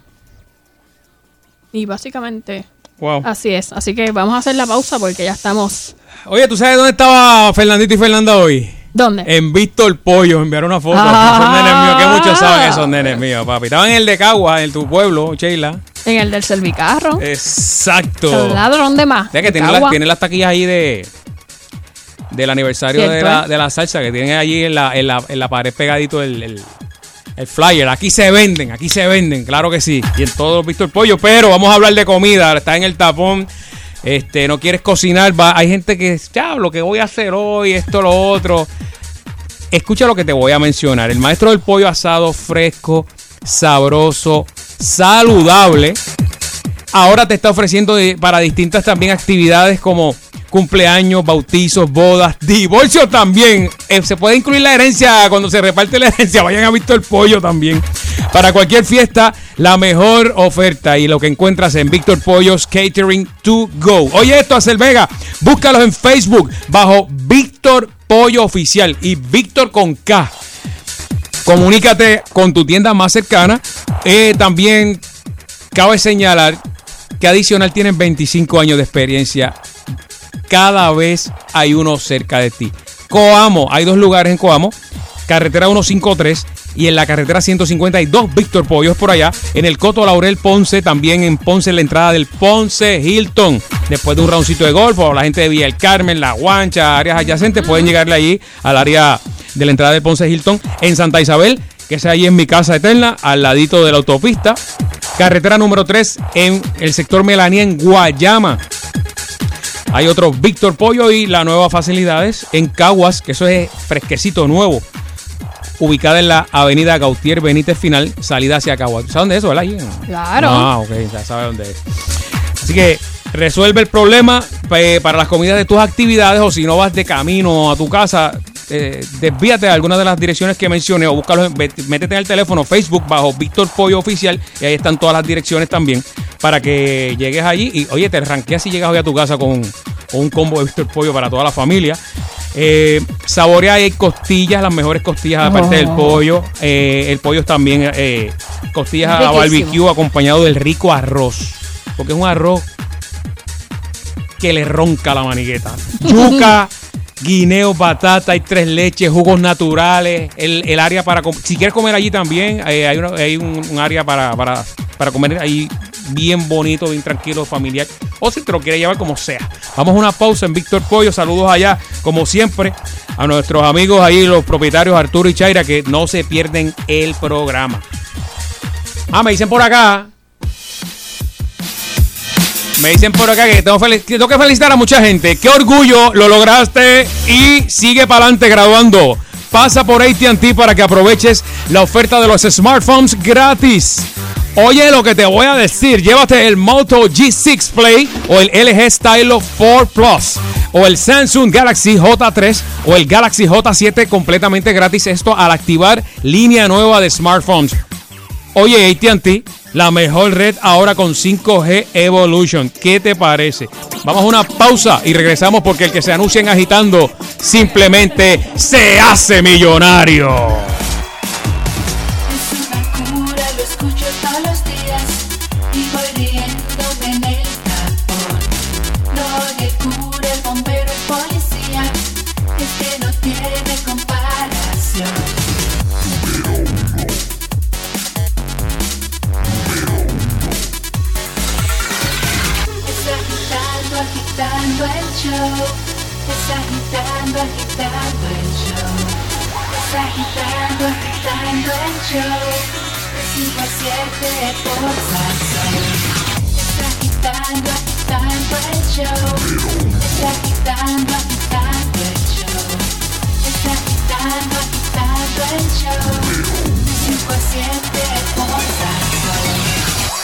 Y básicamente... Wow. Así es, así que vamos a hacer la pausa porque ya estamos. Oye, ¿tú sabes dónde estaba Fernandito y Fernanda hoy? ¿Dónde? En Víctor Pollo, enviaron una foto. Esos nenes míos, que muchos saben esos nenes míos, papi. Estaban en el de Cagua, en tu pueblo, Sheila. En el del Servicarro. Exacto. El ladrón de más. Ya que tiene las taquillas ahí del aniversario de la salsa, que tienen allí en la pared pegadito el flyer. Aquí se venden, claro que sí. Y en todos los Víctor Pollo. Pero vamos a hablar de comida. Está en el tapón. No quieres cocinar. Hay gente que, ya, lo que voy a hacer hoy, esto, lo otro. Escucha lo que te voy a mencionar. El maestro del pollo asado fresco, sabroso, saludable. Ahora te está ofreciendo para distintas también actividades como cumpleaños, bautizos, bodas, divorcios también. Se puede incluir la herencia cuando se reparte la herencia. Vayan a Víctor Pollo también. Para cualquier fiesta, la mejor oferta y lo que encuentras en Víctor Pollo's Catering to Go. Oye esto, Axel Vega, búscalos en Facebook bajo Víctor Pollo Oficial y Víctor con K. Comunícate con tu tienda más cercana. También cabe señalar que adicional tienen 25 años de experiencia. Cada vez hay uno cerca de ti. Coamo, hay 2 lugares en Coamo. Carretera 153 y en la carretera 152 Víctor Pollo es por allá. En el Coto Laurel Ponce, también en Ponce, en la entrada del Ponce Hilton. Después de un roundcito de golf, o la gente de Villa del Carmen, La Guancha, áreas adyacentes, pueden llegarle allí al área de la entrada del Ponce Hilton. En Santa Isabel, que es ahí en mi casa eterna, al ladito de la autopista. Carretera número 3 en el sector Melanía, en Guayama. Hay otro Víctor Pollo y las nuevas facilidades en Caguas, que eso es fresquecito, nuevo. ubicada en la avenida Gautier Benítez Final, salida hacia Caguas. ¿Sabes dónde es eso, verdad? Claro. Ah, ok, ya sabes dónde es. Así que resuelve el problema para las comidas de tus actividades, o si no vas de camino a tu casa, desvíate a algunas de las direcciones que mencioné o búscalo, métete en el teléfono Facebook bajo Víctor Pollo Oficial y ahí están todas las direcciones también para que llegues allí y oye, te ranqueas si llegas hoy a tu casa con un combo de Víctor Pollo para toda la familia. Saborea, hay costillas, las mejores costillas aparte del pollo. El pollo es también costillas a barbecue acompañado del rico arroz, porque es un arroz que le ronca la manigueta. Yuca, guineo, batata, hay 3 leches, jugos naturales, el área para si quieres comer allí también hay un área para comer ahí bien bonito, bien tranquilo, familiar, o si te lo quieres llevar como sea. Vamos a una pausa en Víctor Pollo. Saludos allá, como siempre, a nuestros amigos ahí, los propietarios Arturo y Chaira, que no se pierden el programa. Me dicen por acá que tengo que felicitar a mucha gente. ¡Qué orgullo! Lo lograste y sigue para adelante graduando. Pasa por AT&T para que aproveches la oferta de los smartphones gratis. Oye lo que te voy a decir. Llévate el Moto G6 Play o el LG Stylo 4 Plus o el Samsung Galaxy J3 o el Galaxy J7 completamente gratis. Esto al activar línea nueva de smartphones. Oye, AT&T, la mejor red ahora con 5G Evolution. ¿Qué te parece? Vamos a una pausa y regresamos porque el que se anuncia en Agitando simplemente se hace millonario. Es una cura, lo escucho todos los días y voy riéndome en el tapón. No le cura el bombero, el policía, es que no tiene comparación. Agitando el show, es agitando el show, es agitando el show, de 5 a 7 por Salsón. Es agitando el show, es agitando el show, es agitando el show, de 5 a 7 por Salsón.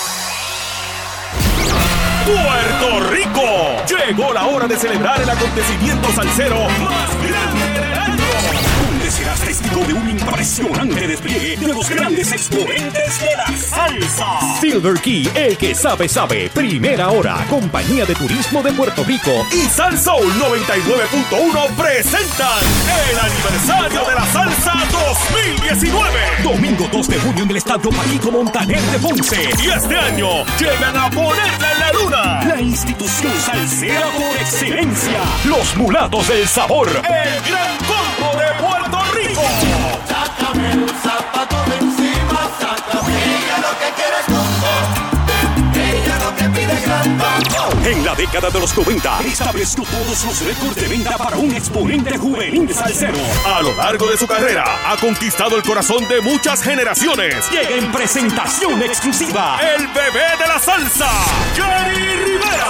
¡Puerto Rico! Llegó la hora de celebrar el acontecimiento salsero más grande del año, donde serás testigo de un impresionante despliegue de los grandes exponentes de la salsa. Silver Key, el que sabe, primera hora, Compañía de Turismo de Puerto Rico y Salsoul 99.1 presentan el aniversario de la salsa 2019. Domingo 2 de junio en el Estadio Paquito Montaner de Ponce. Y este año llegan a ponerla en la luna la institución salsera por excelencia, los Mulatos del Sabor, el Gran Combo de Puerto Rico. Sácame un zapato de encima, sácame. Ella lo que quiere es combo, ella lo que pide gran combo. En la década de los 90 estableció todos los récords de venta para un exponente juvenil salsero. A lo largo de su carrera ha conquistado el corazón de muchas generaciones. Llega en presentación exclusiva el bebé de la salsa, Jerry Rivera.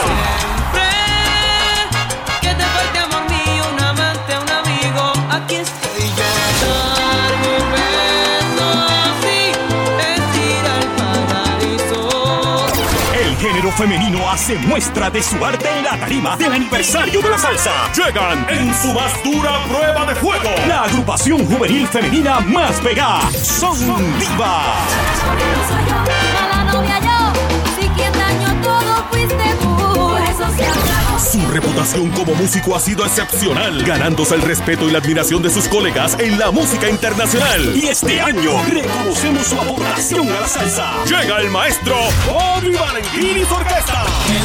Que te falte amor mío, un amante, un amigo, aquí estoy yo. Darme un beso así, es ir al paraíso. El género femenino hace muestra de su arte en la tarima del aniversario de la salsa. Llegan en su más dura prueba de fuego la agrupación juvenil femenina más pegada, Son Diva. Su reputación como músico ha sido excepcional, ganándose el respeto y la admiración de sus colegas en la música internacional. Y este año reconocemos su aportación a la salsa. Llega el maestro Bobby Valentín y su orquesta.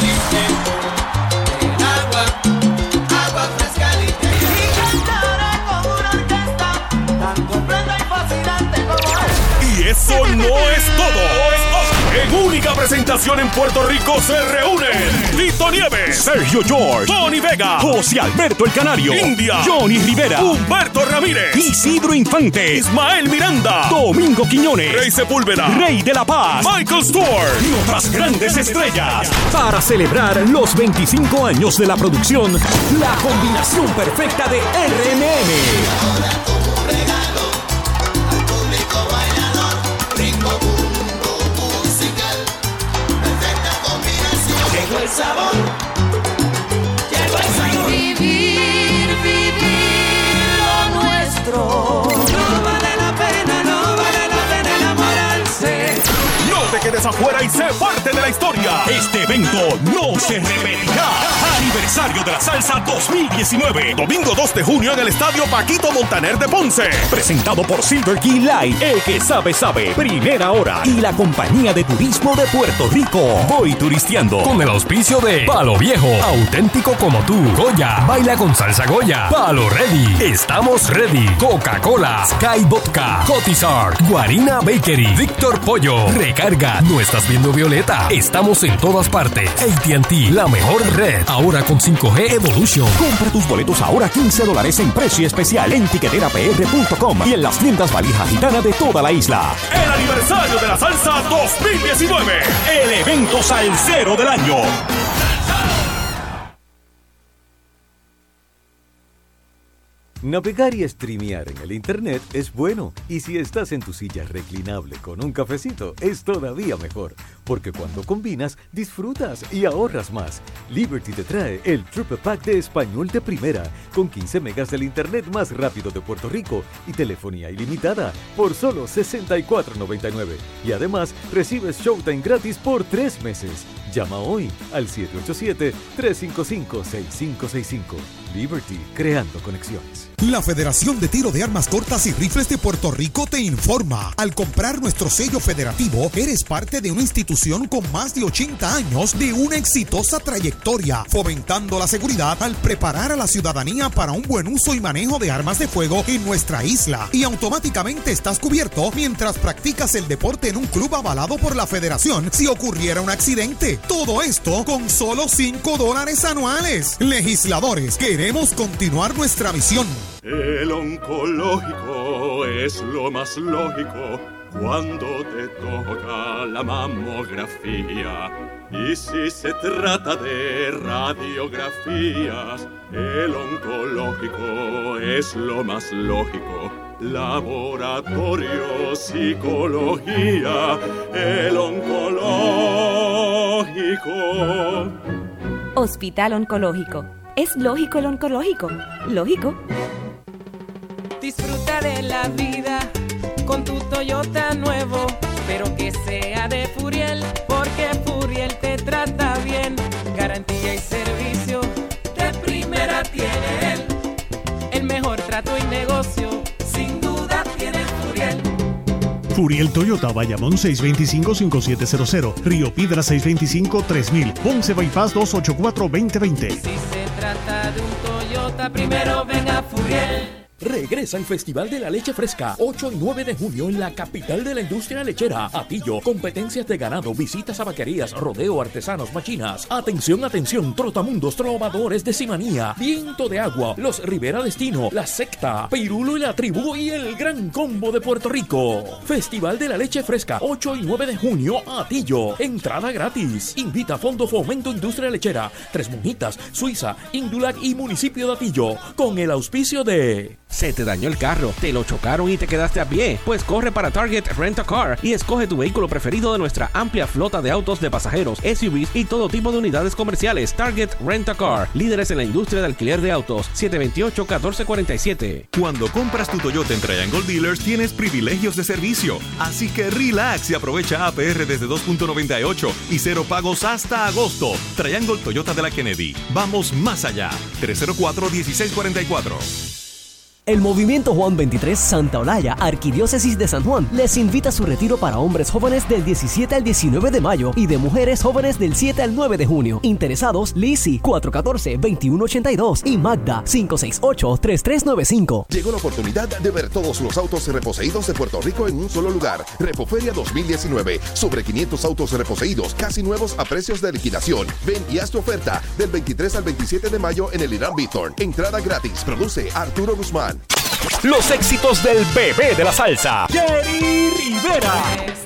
Agua frescalita. Y cantaré con una orquesta tan completa y fascinante como Y eso no es todo. En única presentación en Puerto Rico se reúnen Tito Nieves, Sergio George, Tony Vega, José Alberto el Canario, India, Johnny Rivera, Humberto Ramírez, Isidro Infante, Ismael Miranda, Domingo Quiñones, Rey Sepúlveda, Rey de la Paz, Michael Stewart y otras grandes estrellas. Para celebrar los 25 años de la producción, la combinación perfecta de RMM. más afuera y sé parte de la historia. Este evento no se repetirá. Aniversario de la Salsa 2019. Domingo 2 de junio en el Estadio Paquito Montaner de Ponce. Presentado por Silver Key Light. El que sabe, sabe. Primera hora. Y la Compañía de Turismo de Puerto Rico. Voy turisteando. Con el auspicio de Palo Viejo. Auténtico como tú. Goya. Baila con salsa Goya. Palo Ready. Estamos ready. Coca-Cola. Sky Vodka. Cotizar. Guarina Bakery. Víctor Pollo. Recarga. No estás viendo Violeta. Estamos en todas partes. AT&T. La mejor red. Ahora con 5G Evolution. Compra tus boletos ahora $15 en precio especial en tiqueterapr.com y en las tiendas Valija Gitana de toda la isla. El aniversario de la Salsa 2019. El evento salsero del año. Navegar y streamear en el internet es bueno, y si estás en tu silla reclinable con un cafecito es todavía mejor, porque cuando combinas disfrutas y ahorras más. Liberty te trae el Triple Pack de español de primera, con 15 megas del internet más rápido de Puerto Rico y telefonía ilimitada por solo $64.99, y además recibes Showtime gratis por 3 meses. Llama hoy al 787-355-6565. Liberty, creando conexiones. La Federación de Tiro de Armas Cortas y Rifles de Puerto Rico te informa. Al comprar nuestro sello federativo, eres parte de una institución con más de 80 años de una exitosa trayectoria, fomentando la seguridad al preparar a la ciudadanía para un buen uso y manejo de armas de fuego en nuestra isla. Y automáticamente estás cubierto mientras practicas el deporte en un club avalado por la Federación si ocurriera un accidente. Todo esto con solo $5 anuales. Legisladores, queremos continuar nuestra misión. El oncológico es lo más lógico cuando te toca la mamografía. Y si se trata de radiografías, el oncológico es lo más lógico. Laboratorio, psicología, el oncológico. Hospital Oncológico. ¿Es lógico el oncológico? Lógico. Disfruta de la vida con tu Toyota nuevo, pero que sea de Furiel, porque Furiel te trata bien. Garantía y servicio de primera tiene él. El mejor trato y negocio, sin duda tiene Furiel. Furiel Toyota, Bayamón 625-5700, Río Piedra 625-3000, Ponce Bypass 284-2020. Si se trata de un Toyota, primero ven a Furiel. Regresa el Festival de la Leche Fresca, 8 y 9 de junio en la capital de la industria lechera. Atillo, competencias de ganado, visitas a vaquerías, rodeo, artesanos, machinas. Atención, atención, trotamundos, trovadores de Simanía, Viento de Agua, los Rivera Destino, La Secta, Pirulo y la Tribu y el Gran Combo de Puerto Rico. Festival de la Leche Fresca, 8 y 9 de junio, Atillo. Entrada gratis. Invita a Fondo Fomento Industria Lechera, Tres Monjitas, Suiza, Indulac y Municipio de Atillo. Con el auspicio de... ¿Se te dañó el carro? ¿Te lo chocaron y te quedaste a pie? Pues corre para Target Rent a Car y escoge tu vehículo preferido de nuestra amplia flota de autos de pasajeros, SUVs y todo tipo de unidades comerciales. Target Rent a Car, líderes en la industria de alquiler de autos. 728-1447. Cuando compras tu Toyota en Triangle Dealers tienes privilegios de servicio. Así que relax y aprovecha APR desde 2.98 y cero pagos hasta agosto. Triangle Toyota de la Kennedy. Vamos más allá. 304-1644. El Movimiento Juan 23 Santa Olaya, Arquidiócesis de San Juan, les invita a su retiro para hombres jóvenes del 17 al 19 de mayo y de mujeres jóvenes del 7 al 9 de junio. Interesados, Lizzy 414-2182 y Magda 568-3395. Llegó la oportunidad de ver todos los autos reposeídos de Puerto Rico en un solo lugar. Repoferia 2019. Sobre 500 autos reposeídos, casi nuevos a precios de liquidación. Ven y haz tu oferta del 23 al 27 de mayo en el Irán Bithorn. Entrada gratis. Produce Arturo Guzmán. Los éxitos del bebé de la salsa, Jerry Rivera.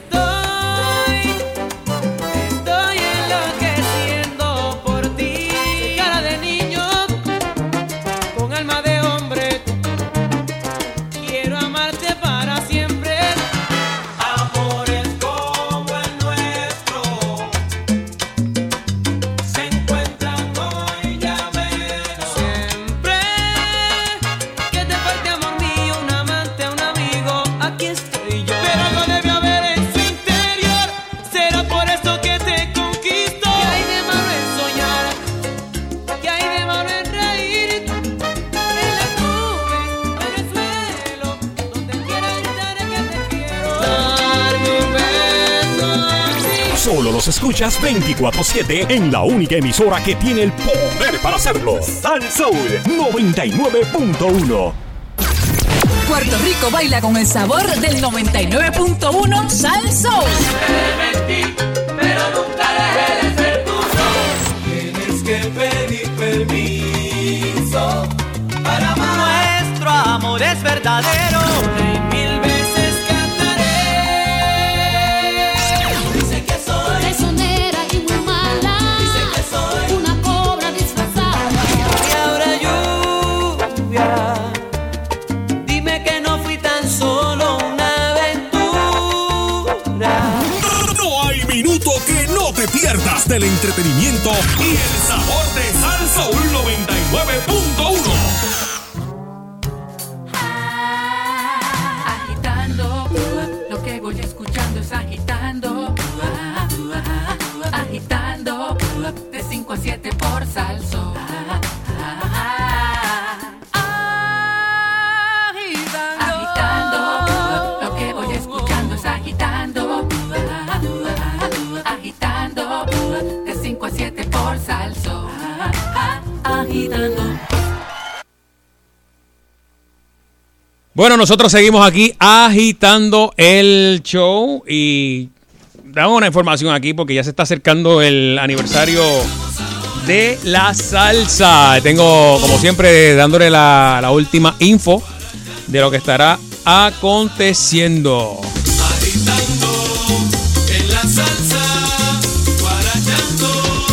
Estoy enloqueciendo por ti. Cara de niño, con alma de hombre. Quiero amarte para siempre. Amores como el nuestro se encuentran hoy, ya ves. Siempre que te falte amor mío, un amante, un amigo, aquí estoy yo. Pero algo debe haber en Solo los escuchas 24/7 en la única emisora que tiene el poder para hacerlo. Sal Soul 99.1. Puerto Rico baila con el sabor del 99.1 Sal Soul. Pero nunca dejé de ser tuyo. Tienes que pedir permiso para amar. Nuestro amor es verdadero. Y 1000 veces cantaré. Dicen que soy traicionera y muy mala. Dicen que soy una cobra disfrazada. Y ahora lluvia. Dime que no fui tan solo una aventura. No hay minuto que no te pierdas del entretenimiento y el sabor de Sal Soul 99.1. Agitando, lo que voy escuchando es agitando. Agitando, de 5 a 7 por Sal Soul. Agitando, lo que voy escuchando es agitando. Agitando, de 5 a 7 por Sal Soul. Agitando. Bueno, nosotros seguimos aquí agitando el show y damos una información aquí porque ya se está acercando el aniversario de la salsa. Tengo, como siempre, dándole la última info de lo que estará aconteciendo. Agitando en la salsa, guarachando.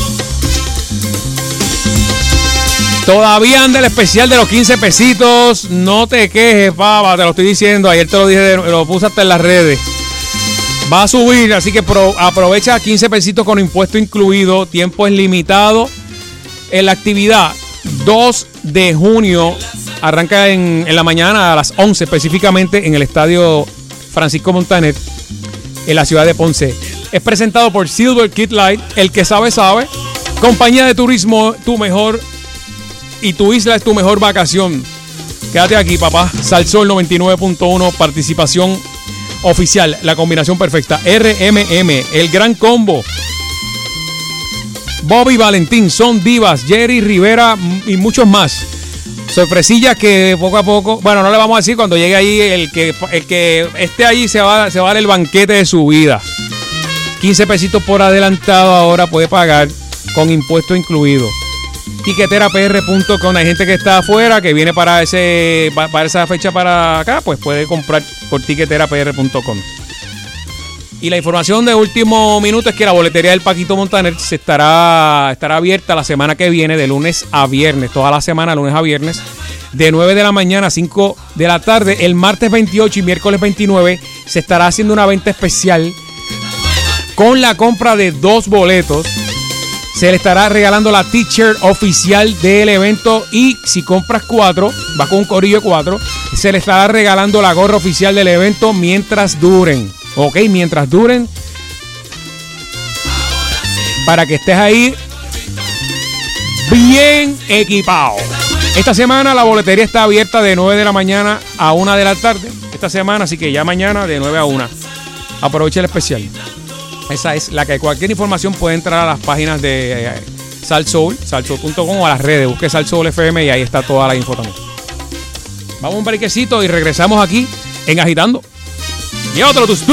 Todavía anda el especial de los 15 pesitos. No te quejes, papa, te lo estoy diciendo. Ayer te lo dije, lo puse hasta en las redes. Va a subir, así que aprovecha 15 pesitos con impuesto incluido. Tiempo es limitado. En la actividad 2 de junio arranca en la mañana a las 11 específicamente en el estadio Francisco Montaner en la ciudad de Ponce. Es presentado por Silver Kid Light, el que sabe sabe. Compañía de turismo, tu mejor y tu isla es tu mejor vacación. Quédate aquí, papá. Sal Soul 99.1, participación oficial, la combinación perfecta. RMM, el gran combo. Bobby Valentín, Son Divas, Jerry Rivera y muchos más. Sorpresillas que poco a poco, bueno, no le vamos a decir cuando llegue ahí, el que esté ahí se va a dar el banquete de su vida. 15 pesitos por adelantado ahora puede pagar con impuesto incluido. Tiqueterapr.com. Hay gente que está afuera que viene para esa fecha para acá, pues puede comprar por tiqueterapr.com. Y la información de último minuto es que la boletería del Paquito Montaner estará abierta la semana que viene, de lunes a viernes, toda la semana, lunes a viernes, de 9 de la mañana a 5 de la tarde. El martes 28 y miércoles 29 se estará haciendo una venta especial con la compra de 2 boletos. Se le estará regalando la t-shirt oficial del evento y si compras 4, vas con un corillo de 4, se le estará regalando la gorra oficial del evento mientras duren. Ok, mientras duren, para que estés ahí bien equipado. Esta semana la boletería está abierta de 9 de la mañana a 1 de la tarde. Esta semana, así que ya mañana de 9 a 1. Aprovecha el especial. Esa es la que cualquier información puede entrar a las páginas de Sal Soul, salsoul.com o a las redes. Busque Sal Soul FM y ahí está toda la info también. Vamos a un brequecito y regresamos aquí en Agitando. Y otro tus.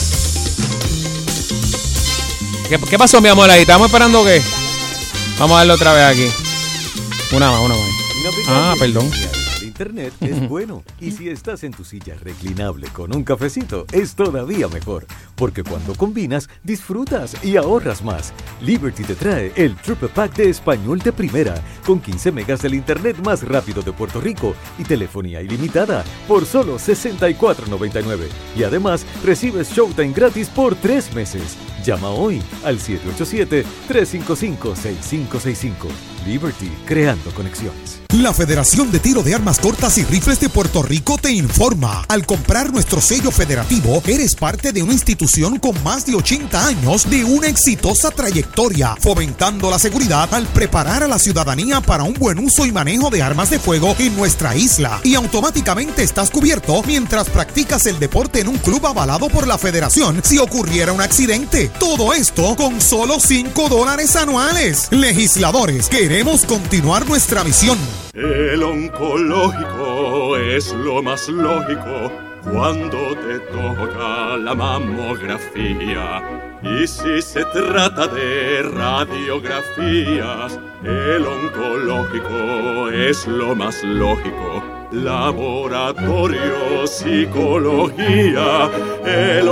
¿Qué pasó, mi amor? Ahí estamos esperando que. Vamos a darle otra vez aquí. Una más. Perdón. Internet es bueno, y si estás en tu silla reclinable con un cafecito es todavía mejor, porque cuando combinas disfrutas y ahorras más. Liberty te trae el Triple Pack de español de primera con 15 megas del internet más rápido de Puerto Rico y telefonía ilimitada por solo $64.99 y además recibes Showtime gratis por 3 meses. Llama hoy al 787-355-6565. Liberty, creando conexiones. La Federación de Tiro de Armas Cortas y Rifles de Puerto Rico te informa. Al comprar nuestro sello federativo, eres parte de una institución con más de 80 años de una exitosa trayectoria, fomentando la seguridad al preparar a la ciudadanía para un buen uso y manejo de armas de fuego en nuestra isla. Y automáticamente estás cubierto mientras practicas el deporte en un club avalado por la Federación si ocurriera un accidente. Todo esto con solo $5 anuales. Legisladores, queremos continuar nuestra misión. El oncológico es lo más lógico cuando te toca la mamografía. Y si se trata de radiografías, el oncológico es lo más lógico. Laboratorio, psicología, el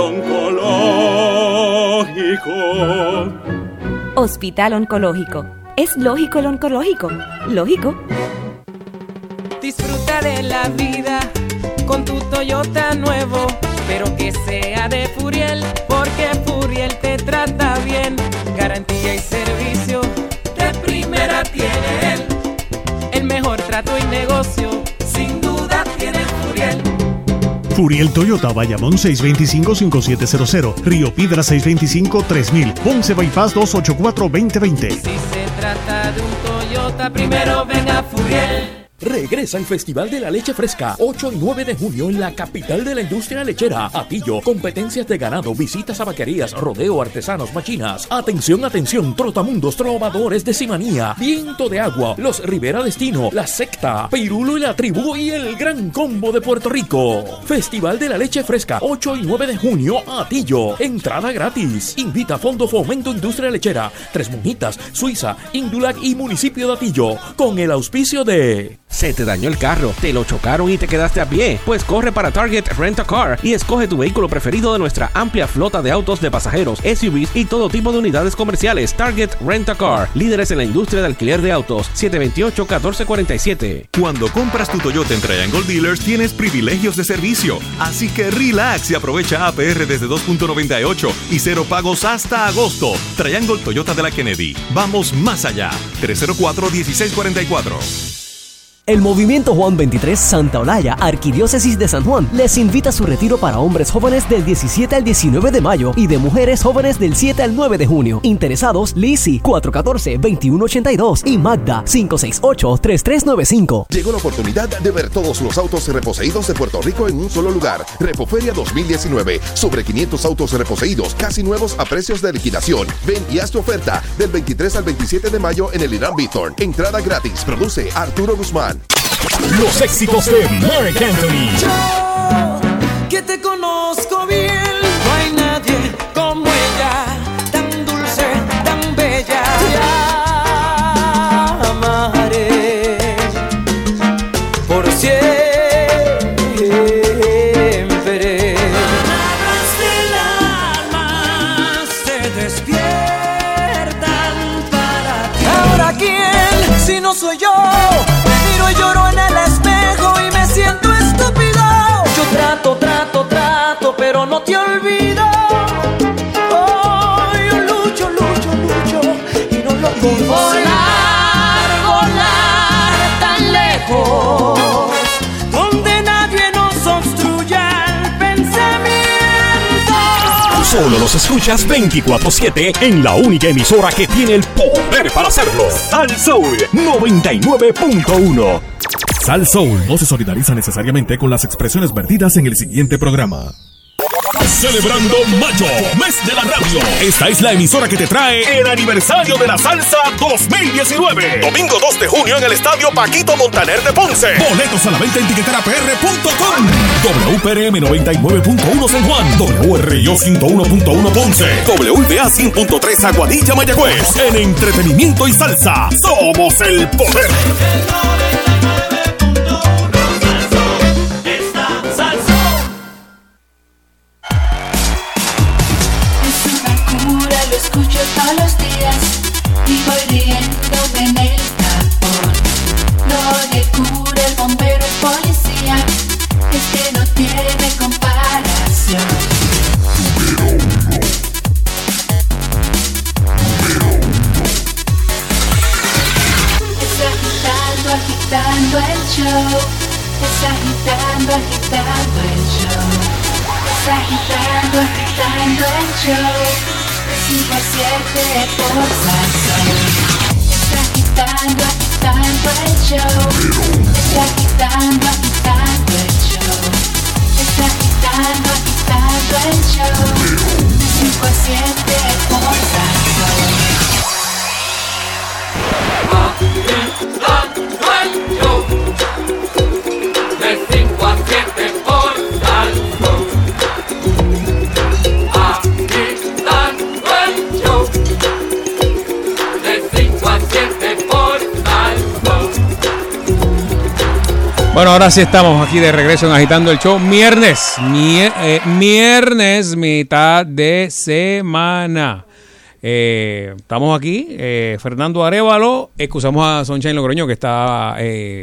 oncológico. Hospital Oncológico. ¿Es lógico el oncológico? ¿Lógico? Disfruta de la vida con tu Toyota nuevo, pero que sea de Furiel, porque Furiel te trata bien. Garantía y servicio de primera tiene él. El mejor trato y negocio, sin duda tiene Furiel. Furiel Toyota, Bayamón 625-5700, Río Piedra 625-3000, Ponce Bypass 284-2020. Si se trata de un Toyota, primero ven a Furiel. Regresa el Festival de la Leche Fresca, 8 y 9 de junio en la capital de la industria lechera. Atillo, competencias de ganado, visitas a vaquerías, rodeo, artesanos, machinas. Atención, atención, trotamundos, trovadores de Simanía, Viento de Agua, los Rivera Destino, La Secta, Pirulo y la Tribu y el Gran Combo de Puerto Rico. Festival de la Leche Fresca, 8 y 9 de junio, Atillo. Entrada gratis. Invita Fondo Fomento Industria Lechera, Tres Monjitas, Suiza, Indulac y Municipio de Atillo. Con el auspicio de... ¿Se te dañó el carro? ¿Te lo chocaron y te quedaste a pie? Pues corre para Target Rent a Car y escoge tu vehículo preferido de nuestra amplia flota de autos de pasajeros, SUVs y todo tipo de unidades comerciales. Target Rent a Car, líderes en la industria de alquiler de autos. 728-1447. Cuando compras tu Toyota en Triangle Dealers tienes privilegios de servicio, así que relax y aprovecha APR desde 2.98 y cero pagos hasta agosto. Triangle Toyota de la Kennedy. Vamos más allá. 304-1644. El Movimiento Juan 23 Santa Olaya, Arquidiócesis de San Juan, les invita a su retiro para hombres jóvenes del 17 al 19 de mayo y de mujeres jóvenes del 7 al 9 de junio. Interesados, Lizzy 414-2182 y Magda 568-3395. Llegó la oportunidad de ver todos los autos reposeídos de Puerto Rico en un solo lugar. Repoferia 2019. Sobre 500 autos reposeídos, casi nuevos a precios de liquidación. Ven y haz tu oferta del 23 al 27 de mayo en el Irán Bithorn. Entrada gratis. Produce Arturo Guzmán. Los éxitos de Marc Anthony. Yo, que te conozco bien, no hay nadie como ella, tan dulce, tan bella. Te amaré por siempre. Palabras del alma se despiertan para ti. ¿Ahora quién, si no soy yo? Y lloro en el espejo y me siento estúpido. Yo trato, pero no te olvido. Oh, yo lucho y no lo consigo. Volar tan lejos, donde nadie nos obstruya el pensamiento. Solo los escuchas 24/7 en la única emisora que tiene el poder para hacerlo. Sal Soul 99.1. Sal Soul no se solidariza necesariamente con las expresiones vertidas en el siguiente programa. Celebrando Mayo, mes de la radio. Esta es la emisora que te trae el aniversario de la salsa 2019. Domingo 2 de junio en el estadio Paquito Montaner de Ponce. Boletos a la venta en tiqueterapr.com. WPRM 99.1 San Juan. WRIO 101.1 Ponce. WBA 100.3 Aguadilla Mayagüez. En entretenimiento y salsa, somos el poder. Escucho todos los días y voy riéndome en el tapón. No le cura el bombero, el policía, es que no tiene comparación. Es agitando, agitando. agitando el show. Está agitando, agitando el show. De 5 a 7 por Salsón. Está agitando, agitando el show. Está agitando, agitando el show. Está agitando, agitando el show. De 5 a 7 por Salsón. De 5 a 7 por Salsón. Agitando el show. De 5 a 7 por Salsón. Bueno, ahora sí estamos aquí de regreso en Agitando el Show. Viernes, mitad de semana. Estamos aquí, Fernando Arévalo, excusamos a Sunshine Logroño que está,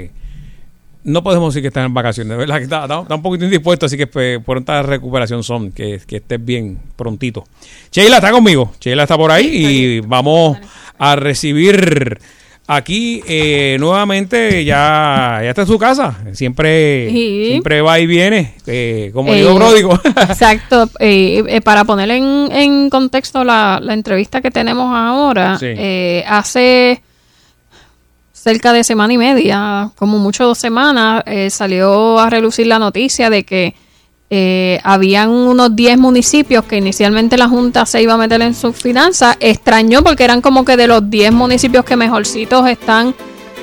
no podemos decir que está en vacaciones, de verdad que está un poquito indispuesto, así que pronta recuperación Son, que estés bien prontito. Sheila está conmigo, Sheila está por ahí y vamos a recibir aquí nuevamente, ya está en su casa, siempre va y viene, como digo pródigo. Exacto, para poner en contexto la entrevista que tenemos ahora, Sí. Hace cerca de semana y media, como mucho 2 semanas, salió a relucir la noticia de que habían unos 10 municipios que inicialmente la Junta se iba a meter en sus finanzas. Extrañó porque eran como que de los 10 municipios que mejorcitos están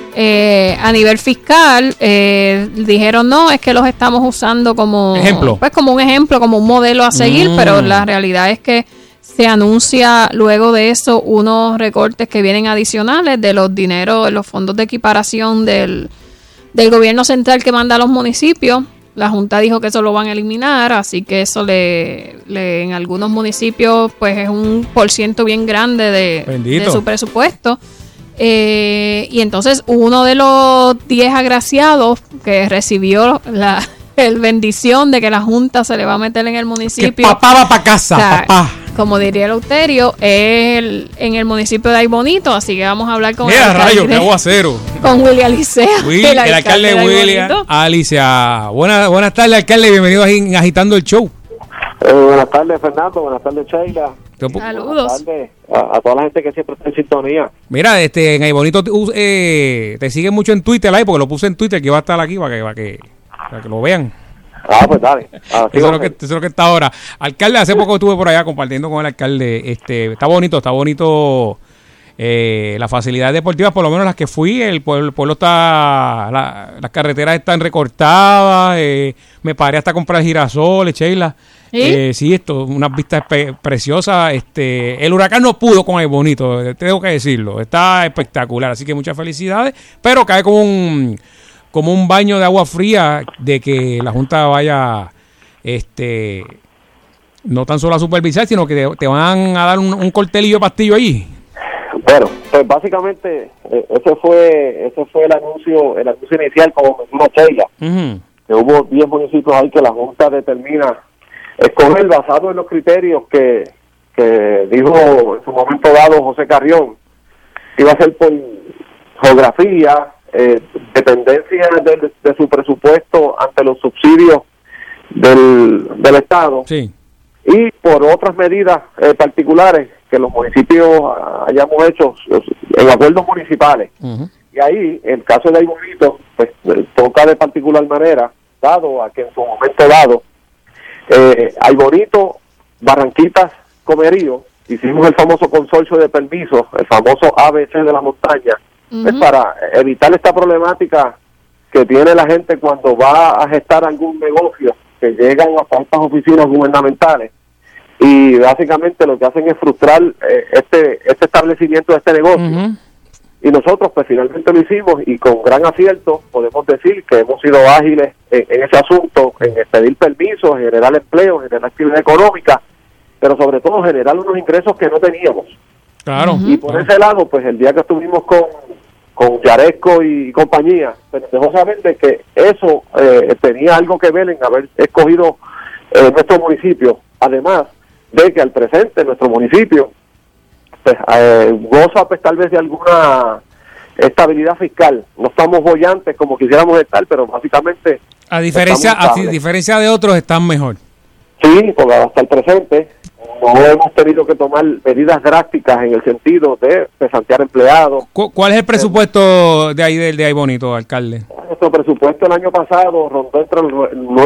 a nivel fiscal. Dijeron no, es que los estamos usando como ejemplo, pues como un ejemplo, como un modelo a seguir, pero la realidad es que se anuncia luego de eso unos recortes que vienen adicionales de los dineros, los fondos de equiparación del gobierno central que manda a los municipios. La Junta dijo que eso lo van a eliminar, así que eso en algunos municipios pues es un % bien grande de su presupuesto. Y entonces uno de los 10 agraciados que recibió la bendición de que la Junta se le va a meter en el municipio. Que papá va para casa, papá. Como diría Eleuterio, en el municipio de Aybonito, así que vamos a hablar con qué aguacero. Con Willy Alicea. El alcalde William Alicea. Buenas tardes, alcalde, bienvenido a Agitando el Show. Buenas tardes, Fernando, buenas tardes, Sheila. Saludos. Buenas tardes a toda la gente que siempre está en sintonía. Mira, en Aybonito te siguen mucho en Twitter, ahí, porque lo puse en Twitter, que va a estar aquí para que lo vean. Pues dale. Eso es lo que está ahora. Alcalde, hace poco estuve por allá compartiendo con el alcalde. Está bonito. Las facilidades deportivas, por lo menos las que fui, el pueblo está, las carreteras están recortadas. Me paré hasta comprar girasoles, Sheila. Sí, unas vistas preciosas. El huracán no pudo con el bonito, tengo que decirlo. Está espectacular, así que muchas felicidades. Pero cae como un baño de agua fría de que la Junta vaya no tan solo a supervisar, sino que te van a dar un cortelillo de pastillo ahí. Bueno, pues básicamente ese fue el anuncio inicial, como mencionó Sheila, que hubo 10 municipios ahí que la Junta determina escoger basado en los criterios que dijo en su momento dado José Carrión. Iba a ser por geografía, dependencia de su presupuesto ante los subsidios del Estado, sí, y por otras medidas particulares que los municipios hayamos hecho en acuerdos municipales. Y ahí, el caso de Aybonito, pues toca de particular manera, dado a que en su momento dado, Aybonito, Barranquitas, Comerío, hicimos el famoso consorcio de permisos, el famoso ABC de la montaña, pues para evitar esta problemática que tiene la gente cuando va a gestar algún negocio, que llegan hasta estas oficinas gubernamentales y básicamente lo que hacen es frustrar este establecimiento de este negocio. Y nosotros pues finalmente lo hicimos y con gran acierto podemos decir que hemos sido ágiles en ese asunto, en pedir permisos, generar empleo, generar actividad económica, pero sobre todo generar unos ingresos que no teníamos. Claro. Y por ese lado, pues el día que estuvimos con Yaresco y compañía, pues nos dejó saber de que eso tenía algo que ver en haber escogido nuestro municipio, además de que al presente nuestro municipio pues goza pues tal vez de alguna estabilidad fiscal. No estamos bollantes como quisiéramos estar, pero básicamente A diferencia de otros, están mejor. Sí, porque hasta el presente no hemos tenido que tomar medidas drásticas en el sentido de cesantear empleados. ¿Cuál es el presupuesto de ahí de Ay Bonito, alcalde? Nuestro presupuesto el año pasado rondó entre los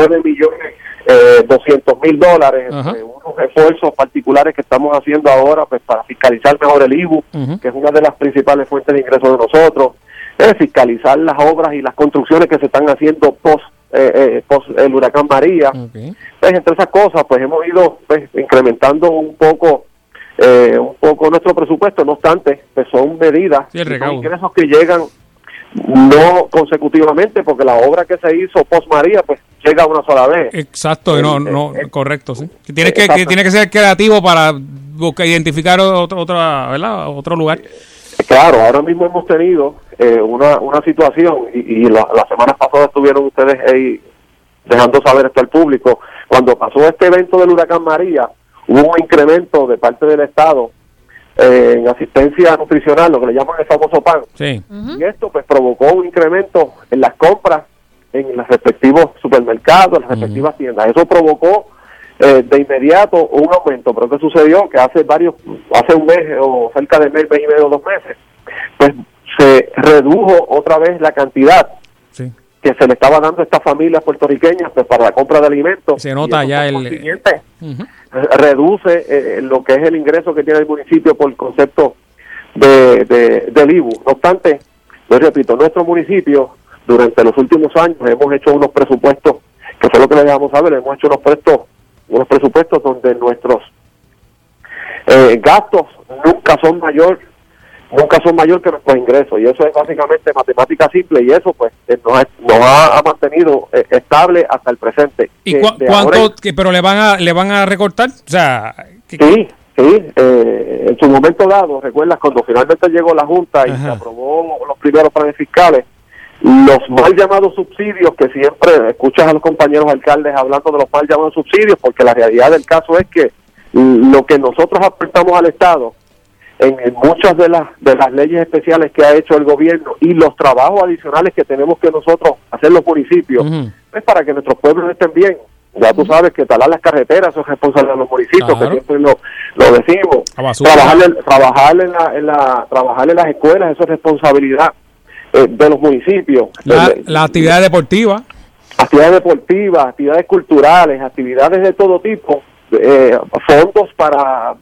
$9.200.000, unos esfuerzos particulares que estamos haciendo ahora pues para fiscalizar mejor el IBU, que es una de las principales fuentes de ingresos de nosotros, fiscalizar las obras y las construcciones que se están haciendo post el huracán María. Pues, entre esas cosas pues hemos ido pues incrementando un poco nuestro presupuesto. No obstante, pues son medidas, son ingresos que llegan no consecutivamente, porque la obra que se hizo post María pues llega una sola vez. Exacto, correcto, sí. Tiene que ser creativo para identificar otro lugar. Claro, ahora mismo hemos tenido una situación y la semana pasada estuvieron ustedes ahí dejando saber esto al público. Cuando pasó este evento del huracán María, hubo un incremento de parte del Estado en asistencia nutricional, lo que le llaman el famoso PAN. Sí. Y esto pues provocó un incremento en las compras en los respectivos supermercados, en las respectivas tiendas. Eso provocó de inmediato un aumento. Pero ¿qué sucedió? Que hace un mes o cerca de mes y medio, 2 meses, pues se redujo otra vez la cantidad que se le estaba dando a estas familias puertorriqueñas pues para la compra de alimentos. Se nota ya reduce lo que es el ingreso que tiene el municipio por el concepto del IBU. No obstante, yo repito, nuestro municipio durante los últimos años hemos hecho unos presupuestos, que fue lo que le dejamos saber, hemos hecho unos presupuestos donde nuestros gastos nunca son mayor que nuestros ingresos, y eso es básicamente matemática simple, y eso pues nos ha mantenido estable hasta el presente. ¿Y cuánto? Pero le van a recortar, o sea, sí, en su momento dado, recuerdas cuando finalmente llegó la Junta y se aprobó los primeros planes fiscales, los mal llamados subsidios, que siempre escuchas a los compañeros alcaldes hablando de los mal llamados subsidios, porque la realidad del caso es que lo que nosotros aportamos al Estado en muchas de las leyes especiales que ha hecho el gobierno y los trabajos adicionales que tenemos que nosotros hacer los municipios, es para que nuestros pueblos estén bien. Ya tú sabes que talar las carreteras, eso es responsabilidad de los municipios, que siempre lo decimos. Trabajar en las escuelas, eso es responsabilidad de los municipios. La actividad deportiva. Actividades deportivas, actividades culturales, actividades de todo tipo, fondos para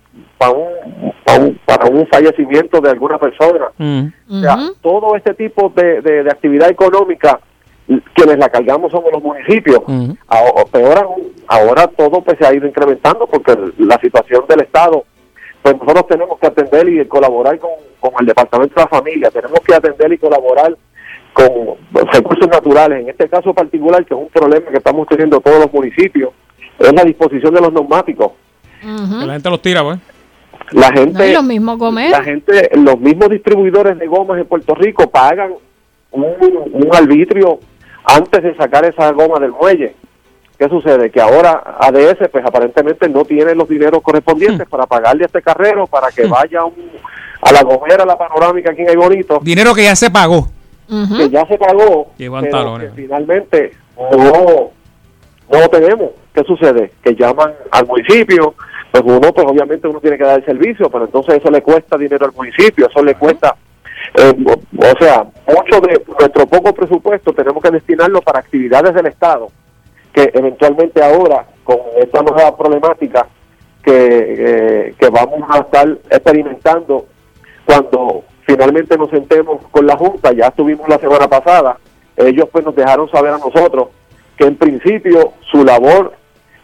un fallecimiento de alguna persona. O sea, todo este tipo de actividad económica, quienes la cargamos somos los municipios. Peor aún, ahora todo pues se ha ido incrementando porque la situación del Estado, pues nosotros tenemos que atender y colaborar con el Departamento de la Familia, tenemos que atender y colaborar con recursos naturales. En este caso particular, que es un problema que estamos teniendo todos los municipios, es la disposición de los neumáticos. Que la gente los tira, pues. La gente, los mismos los mismos distribuidores de gomas en Puerto Rico pagan un arbitrio antes de sacar esa goma del muelle. ¿Qué sucede? Que ahora ADS pues aparentemente no tiene los dineros correspondientes para pagarle a este carrero para que vaya a la gomera, a la panorámica aquí en Ay Bonito. Dinero que ya se pagó. Que ya se pagó, pero que finalmente no lo tenemos. ¿Qué sucede? Que llaman al municipio, pues obviamente uno tiene que dar el servicio, pero entonces eso le cuesta dinero al municipio, eso le cuesta, o sea, mucho de nuestro poco presupuesto tenemos que destinarlo para actividades del Estado, que eventualmente ahora, con esta nueva problemática que vamos a estar experimentando cuando finalmente nos sentemos con la Junta, ya estuvimos la semana pasada, ellos pues nos dejaron saber a nosotros que en principio su labor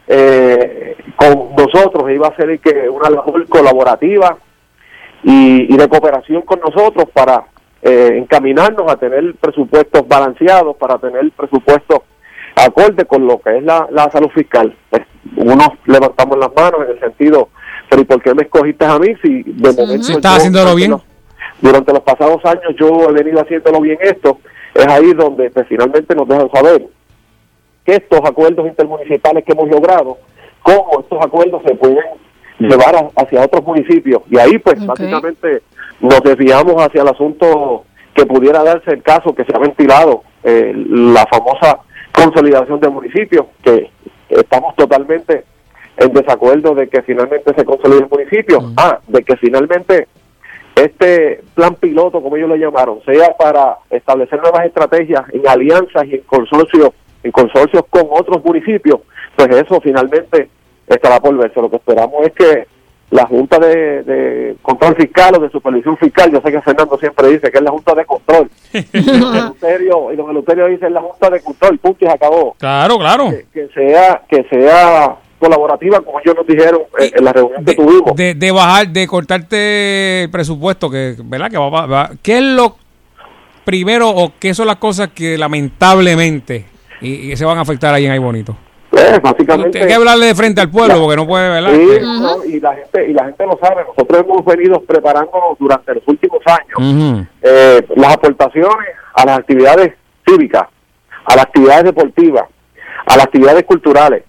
con nosotros iba a ser una labor colaborativa y de cooperación con nosotros para encaminarnos a tener presupuestos balanceados, para tener presupuestos acorde con lo que es la salud fiscal. Pues, unos levantamos las manos en el sentido, pero ¿y por qué me escogiste a mí si de momento estás haciéndolo bien? Durante los pasados años yo he venido haciéndolo bien esto. Es ahí donde pues, finalmente nos dejan saber que estos acuerdos intermunicipales que hemos logrado, cómo estos acuerdos se pueden llevar hacia otros municipios. Y ahí pues básicamente nos desviamos hacia el asunto que pudiera darse el caso que se ha ventilado, la famosa consolidación de municipios, que estamos totalmente en desacuerdo de que finalmente se consolide el municipio, de que finalmente este plan piloto, como ellos lo llamaron, sea para establecer nuevas estrategias en alianzas y en consorcios con otros municipios, pues eso finalmente estará por verse. Lo que esperamos es que la Junta de Control Fiscal o de Supervisión Fiscal, yo sé que Fernando siempre dice que es la Junta de Control, y don Eleuterio dice es la Junta de Control, punto y se acabó. Claro. Que sea colaborativa, como ellos nos dijeron en la reunión que tuvimos. De bajar, de cortarte el presupuesto, que ¿verdad? Que va. ¿Qué es lo primero o qué son las cosas que lamentablemente y se van a afectar ahí en Ay Bonito? Básicamente hay que hablarle de frente al pueblo porque no puede, ¿verdad? Sí, no, y la gente lo sabe. Nosotros hemos venido preparándonos durante los últimos años las aportaciones a las actividades cívicas, a las actividades deportivas, a las actividades culturales.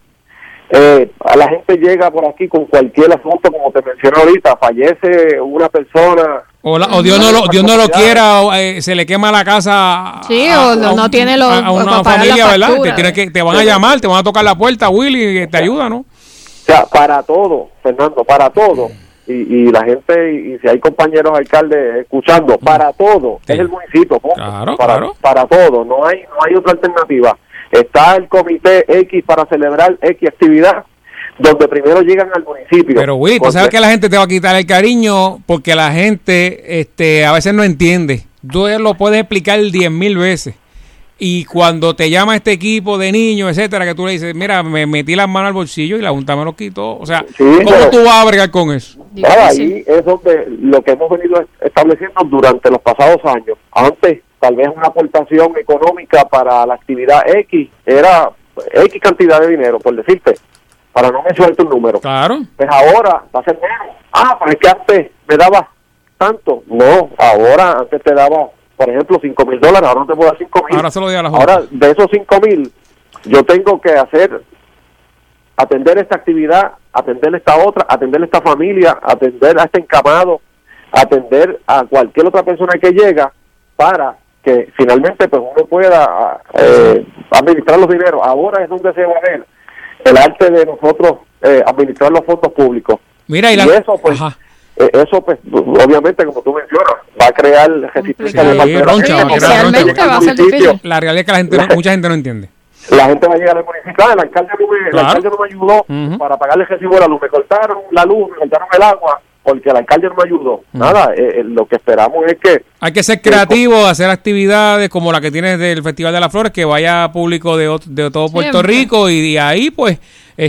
A la gente llega por aquí con cualquier asunto, como te mencioné ahorita, fallece una persona, o Dios no lo quiera, o, se le quema la casa no tiene a una familia, ¿verdad? Te van a llamar, te van a tocar la puerta, Willy, te ayuda, ¿no? O sea, para todo, Fernando, para todo. Y la gente, y si hay compañeros alcaldes escuchando, para todo, es el municipio, para todo, no hay otra alternativa. Está el comité X para celebrar X actividad, donde primero llegan al municipio. Pero Willy, tú sabes que la gente te va a quitar el cariño porque la gente a veces no entiende. Tú lo puedes explicar 10,000 veces. Y cuando te llama este equipo de niños, etcétera, que tú le dices, mira, me metí las manos al bolsillo y la Junta me lo quitó. O sea, ¿cómo tú vas a bregar con eso? Ahí es donde lo que hemos venido estableciendo durante los pasados años. Antes, tal vez una aportación económica para la actividad X era X cantidad de dinero, por decirte, para no mencionarte un número. Claro. Pues ahora va a ser menos. Pero es que antes me daba tanto. No, ahora antes te daba, por ejemplo, $5,000, ahora no te puedo dar 5,000. Ahora se lo doy a la Junta. Ahora, de esos 5,000, yo tengo que atender esta actividad, atender esta otra, atender esta familia, atender a este encamado, atender a cualquier otra persona que llega para que finalmente pues uno pueda administrar los dineros. Ahora es donde se va a ver el arte de nosotros administrar los fondos públicos. Mira, y eso pues obviamente, como tú mencionas, va a crear resistencia de especialmente va a ser difícil. La realidad es que mucha gente no entiende. La gente va a llegar al municipio, el alcalde no me ayudó para pagarle el recibo de la luz, me cortaron la luz, me cortaron el agua, porque el alcalde no me ayudó. Nada, lo que esperamos es que... Hay que ser creativo, hacer actividades como la que tienes del Festival de las Flores, que vaya público de todo Puerto Rico, y de ahí pues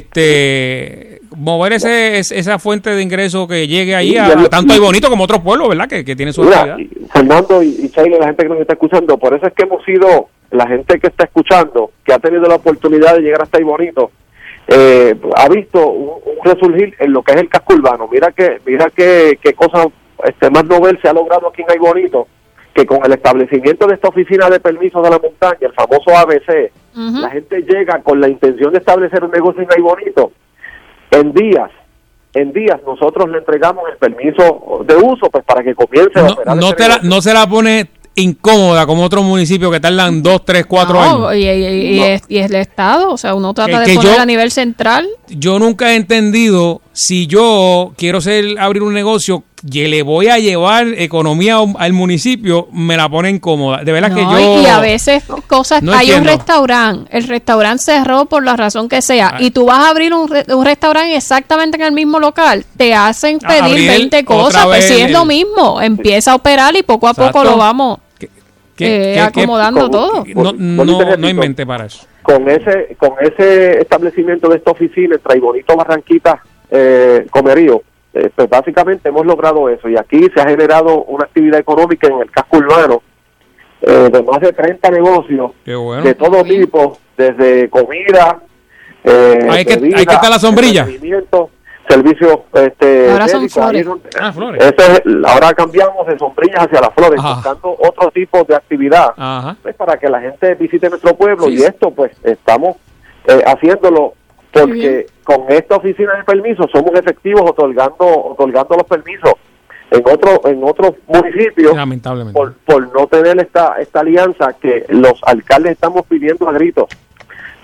mover esa fuente de ingreso que llegue ahí tanto Ay Bonito como otros pueblos, ¿verdad? Que tienen su actividad. Fernando y Chayle, la gente que nos está escuchando, por eso es que hemos sido, la gente que está escuchando, que ha tenido la oportunidad de llegar hasta Ay Bonito, ha visto un resurgir en lo que es el casco urbano. Mira qué cosa más novel se ha logrado aquí en Ay Bonito, que con el establecimiento de esta oficina de permisos de la montaña, el famoso ABC, la gente llega con la intención de establecer un negocio en Ay Bonito. En días nosotros le entregamos el permiso de uso pues para que comience a operar. No se la pone incómoda como otros municipios que tardan 2, 3, 4 años. Y es el Estado, o sea, uno trata de poner a nivel central. Yo nunca he entendido, si yo quiero abrir un negocio, y le voy a llevar economía al municipio, me la pone incómoda. De verdad que yo... Y a veces cosas... No hay entiendo. un restaurante, el restaurante cerró por la razón que sea, y tú vas a abrir un restaurante exactamente en el mismo local, te hacen pedir 20 cosas, pues si es lo mismo, empieza a operar y poco a poco lo vamos acomodando todo. No inventé para eso. Con ese establecimiento de esta oficina entre Ay Bonito, Barranquita, Comerío, pues básicamente hemos logrado eso, y aquí se ha generado una actividad económica en el casco urbano de más de 30 negocios de todo tipo, desde comida, hay que estar la sombrilla, servicios ahora son flores. Ahora cambiamos de sombrillas hacia las flores, buscando otro tipo de actividad pues, para que la gente visite nuestro pueblo. Y esto pues estamos haciéndolo porque con esta oficina de permisos somos efectivos otorgando los permisos. En otros municipios, lamentablemente, por no tener esta alianza que los alcaldes estamos pidiendo a gritos,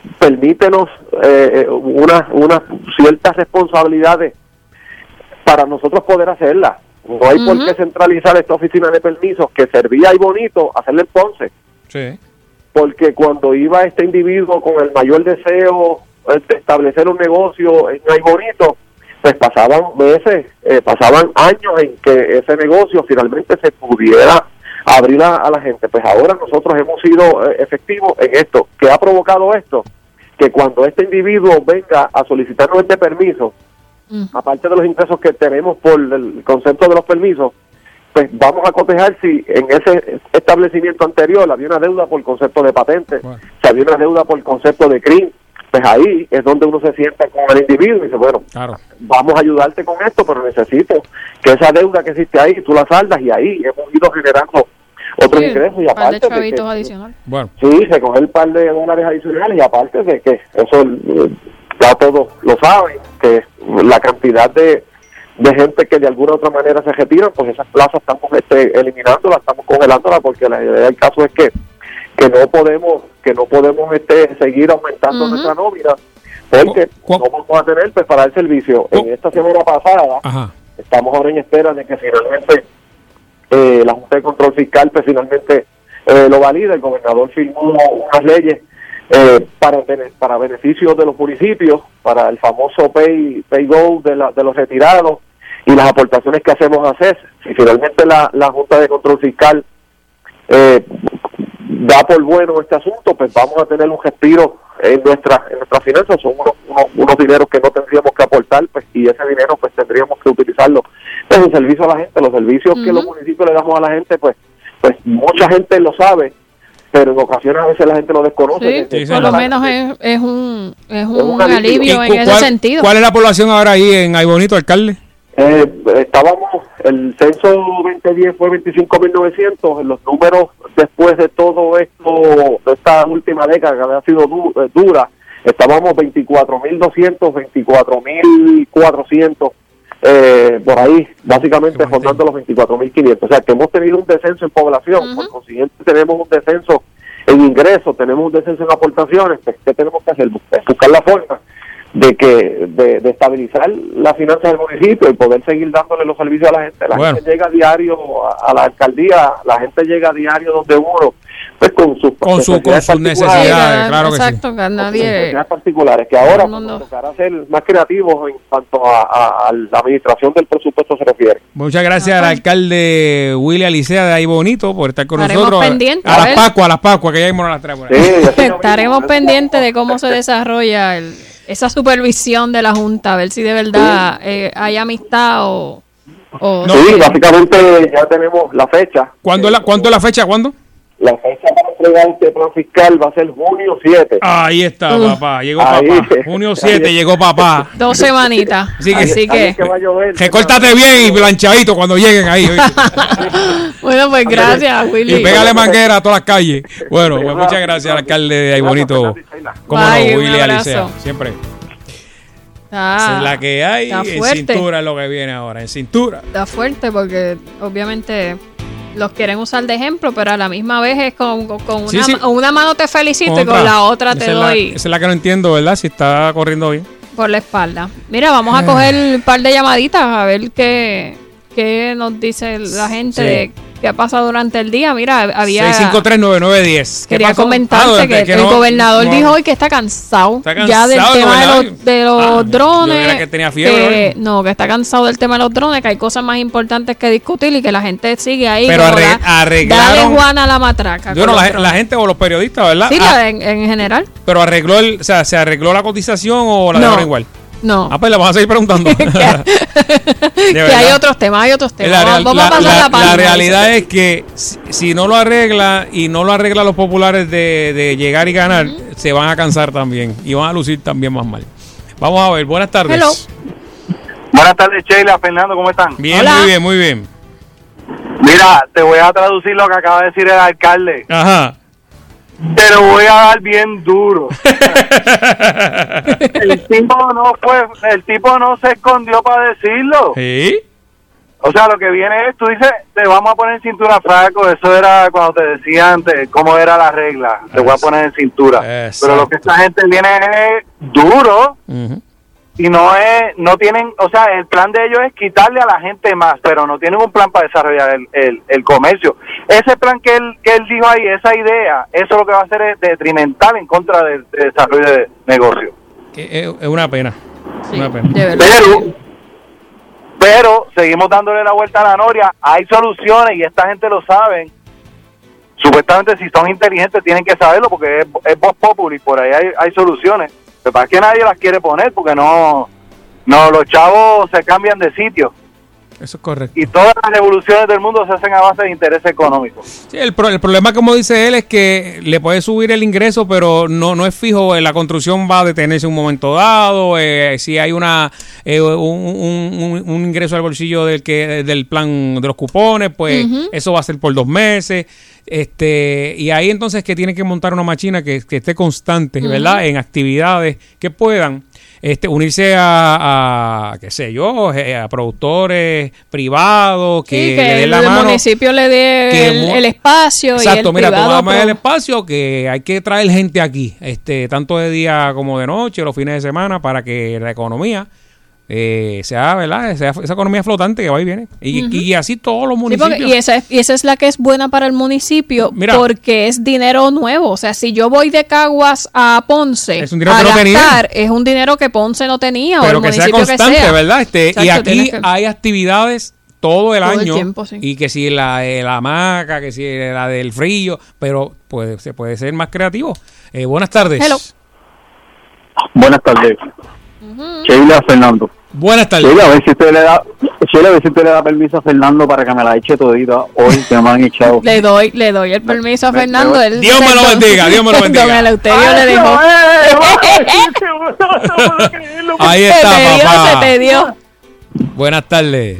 permítenos unas ciertas responsabilidades para nosotros poder hacerlas. No hay por qué centralizar esta oficina de permisos que servía y bonito, hacerle en Ponce. Sí. Porque cuando iba este individuo con el mayor deseo de establecer un negocio en Ay Bonito, pues pasaban meses, pasaban años en que ese negocio finalmente se pudiera abrir a la gente. Pues ahora nosotros hemos sido efectivos en esto. ¿Qué ha provocado esto? Que cuando este individuo venga a solicitarnos este permiso, aparte de los ingresos que tenemos por el concepto de los permisos, pues vamos a cotejar si en ese establecimiento anterior había una deuda por concepto de patente, si había una deuda por concepto de CRIM. Pues ahí es donde uno se sienta con el individuo y dice, bueno, vamos a ayudarte con esto, pero necesito que esa deuda que existe ahí, tú la saldas, y ahí hemos ido generando otros ingresos. Y aparte par de chavitos adicionales. Bueno. Sí, recoger el par de dólares adicionales, y aparte de que eso ya todos lo saben, que la cantidad de gente que de alguna u otra manera se retiran, pues esas plazas estamos eliminándolas, estamos congelándolas, porque la idea del caso es que no podemos seguir aumentando nuestra nómina, porque no vamos a tener pues para el servicio. En esta semana pasada estamos ahora en espera de que finalmente la Junta de Control Fiscal pues finalmente lo valida. El gobernador firmó unas leyes para beneficio de los municipios, para el famoso pay go de los retirados y las aportaciones que hacemos a CES. Si finalmente la Junta de Control Fiscal da por bueno este asunto, pues vamos a tener un respiro en nuestras finanzas. Son unos dineros que no tendríamos que aportar, pues, y ese dinero pues tendríamos que utilizarlo en servicio a la gente. Los servicios que los municipios le damos a la gente, pues mucha gente lo sabe, pero en ocasiones a veces la gente lo desconoce. Sí, por lo menos es un alivio en ese sentido. ¿Cuál es la población ahora ahí en Ay Bonito, alcalde? El censo 2010 fue 25.900. Los números después de todo esto, de esta última década que había sido dura, estábamos 24.200, 24.400, por ahí, básicamente rondando los 24.500. O sea, que hemos tenido un descenso en población, por consiguiente tenemos un descenso en ingresos, tenemos un descenso en aportaciones. Pues, ¿qué tenemos que hacer? Buscar la forma de estabilizar las finanzas del municipio y poder seguir dándole los servicios a la gente. La gente llega a diario a la alcaldía, la gente llega a diario donde uno, pues con sus necesidades, claro que exacto, sí. Que nadie... necesidades particulares, que ahora nos tocará ser más creativos en cuanto a la administración del presupuesto se refiere. Muchas gracias al alcalde Willy Alicea de Ay Bonito por estar con nosotros. Pendientes, a las Pascuas, que ya mismo nos las traemos. Estaremos pendientes de cómo se desarrolla esa supervisión de la Junta, a ver si de verdad hay amistad o no. Sí, básicamente ya tenemos la fecha. ¿Cuándo es la fecha? ¿Cuándo? La fecha para entregar este plan fiscal va a ser junio 7. Ahí está, papá. Llegó papá. Junio 7 llegó papá. 2 semanitas. Así que recórtate bien y planchadito cuando lleguen ahí. Bueno, pues gracias, Willy. Y pégale manguera a todas las calles. Bueno, pues muchas gracias al alcalde de Ay Bonito. Cómo no, Willy Alicea. Siempre. Esa es la que hay. En cintura es lo que viene ahora. En cintura. Está fuerte porque obviamente los quieren usar de ejemplo, pero a la misma vez es con una mano te felicito y con la otra te doy. Esa es la que no entiendo, ¿verdad? Si está corriendo bien. Por la espalda. Mira, vamos a coger un par de llamaditas a ver qué nos dice la gente de qué ha pasado durante el día. Mira, había 6539910. Quería comentarte que el gobernador dijo hoy que está cansado ya del tema de los drones. Que tenía fiebre. Que está cansado del tema de los drones, que hay cosas más importantes que discutir y que la gente sigue ahí. Pero arreglaron. Dale Juana a la matraca. Bueno, la gente o los periodistas, ¿verdad? Sí, en general. Pero ¿se arregló la cotización o la dejaron igual? No. Pues le vamos a seguir preguntando. que hay otros temas, vamos a pasar la página. La realidad es que si no lo arregla y no lo arregla los populares de llegar y ganar, se van a cansar también y van a lucir también más mal. Vamos a ver, buenas tardes. Hello. Buenas tardes, Sheila, Fernando, ¿cómo están? Bien, hola. muy bien. Mira, te voy a traducir lo que acaba de decir el alcalde. Ajá. Te lo voy a dar bien duro. El tipo no se escondió para decirlo. ¿Sí? O sea, lo que viene es, tú dices, te vamos a poner en cintura, Franco, eso era cuando te decía antes cómo era la regla, te voy a poner en cintura. Exacto. Pero lo que esta gente viene es duro y no tienen, o sea, el plan de ellos es quitarle a la gente más, pero no tienen un plan para desarrollar el comercio. Ese plan que él dijo ahí, esa idea, eso lo que va a hacer es detrimental en contra del desarrollo de negocio. Es una pena. Sí, una pena. Pero seguimos dándole la vuelta a la noria. Hay soluciones y esta gente lo sabe. Supuestamente, si son inteligentes, tienen que saberlo porque es voz populi. Por ahí hay soluciones. Lo que pasa es que nadie las quiere poner porque no los chavos se cambian de sitio. Eso es correcto. Y todas las revoluciones del mundo se hacen a base de intereses económicos. Sí, el problema, como dice él, es que le puede subir el ingreso, pero no es fijo. La construcción va a detenerse un momento dado. Si hay un ingreso al bolsillo del plan de los cupones, pues eso va a ser por 2 meses. Y ahí entonces que tiene que montar una máquina que esté constante, ¿verdad? En actividades que puedan unirse a qué sé yo, a productores privados que le den la mano. El municipio le dé el espacio. Exacto, y el mira, privado, tú dame el espacio, que hay que traer gente aquí, tanto de día como de noche, los fines de semana, para que la economía sea, ¿verdad? Sea esa economía flotante que va y viene. Y así todos los municipios. Sí, y esa es la que es buena para el municipio. Mira, porque es dinero nuevo. O sea, si yo voy de Caguas a Ponce es un dinero que no tenía. Es un dinero que Ponce no tenía. Pero o el que municipio sea constante, que sea. ¿verdad? Y aquí hay actividades todo el año. Tiempo, sí. Y que si la hamaca, que si la del frío, pero se puede ser más creativo. Buenas tardes. Hello. Buenas tardes. Sheila Fernando. Buenas tardes. Sheila, a ver si usted le da permiso a Fernando para que me la eche todita hoy, que me han echado. Le doy el permiso a Fernando. Dios me lo bendiga, Dios me lo bendiga. Don Eleuterio le dejó. Ahí está, papá. Se te dio. Buenas tardes.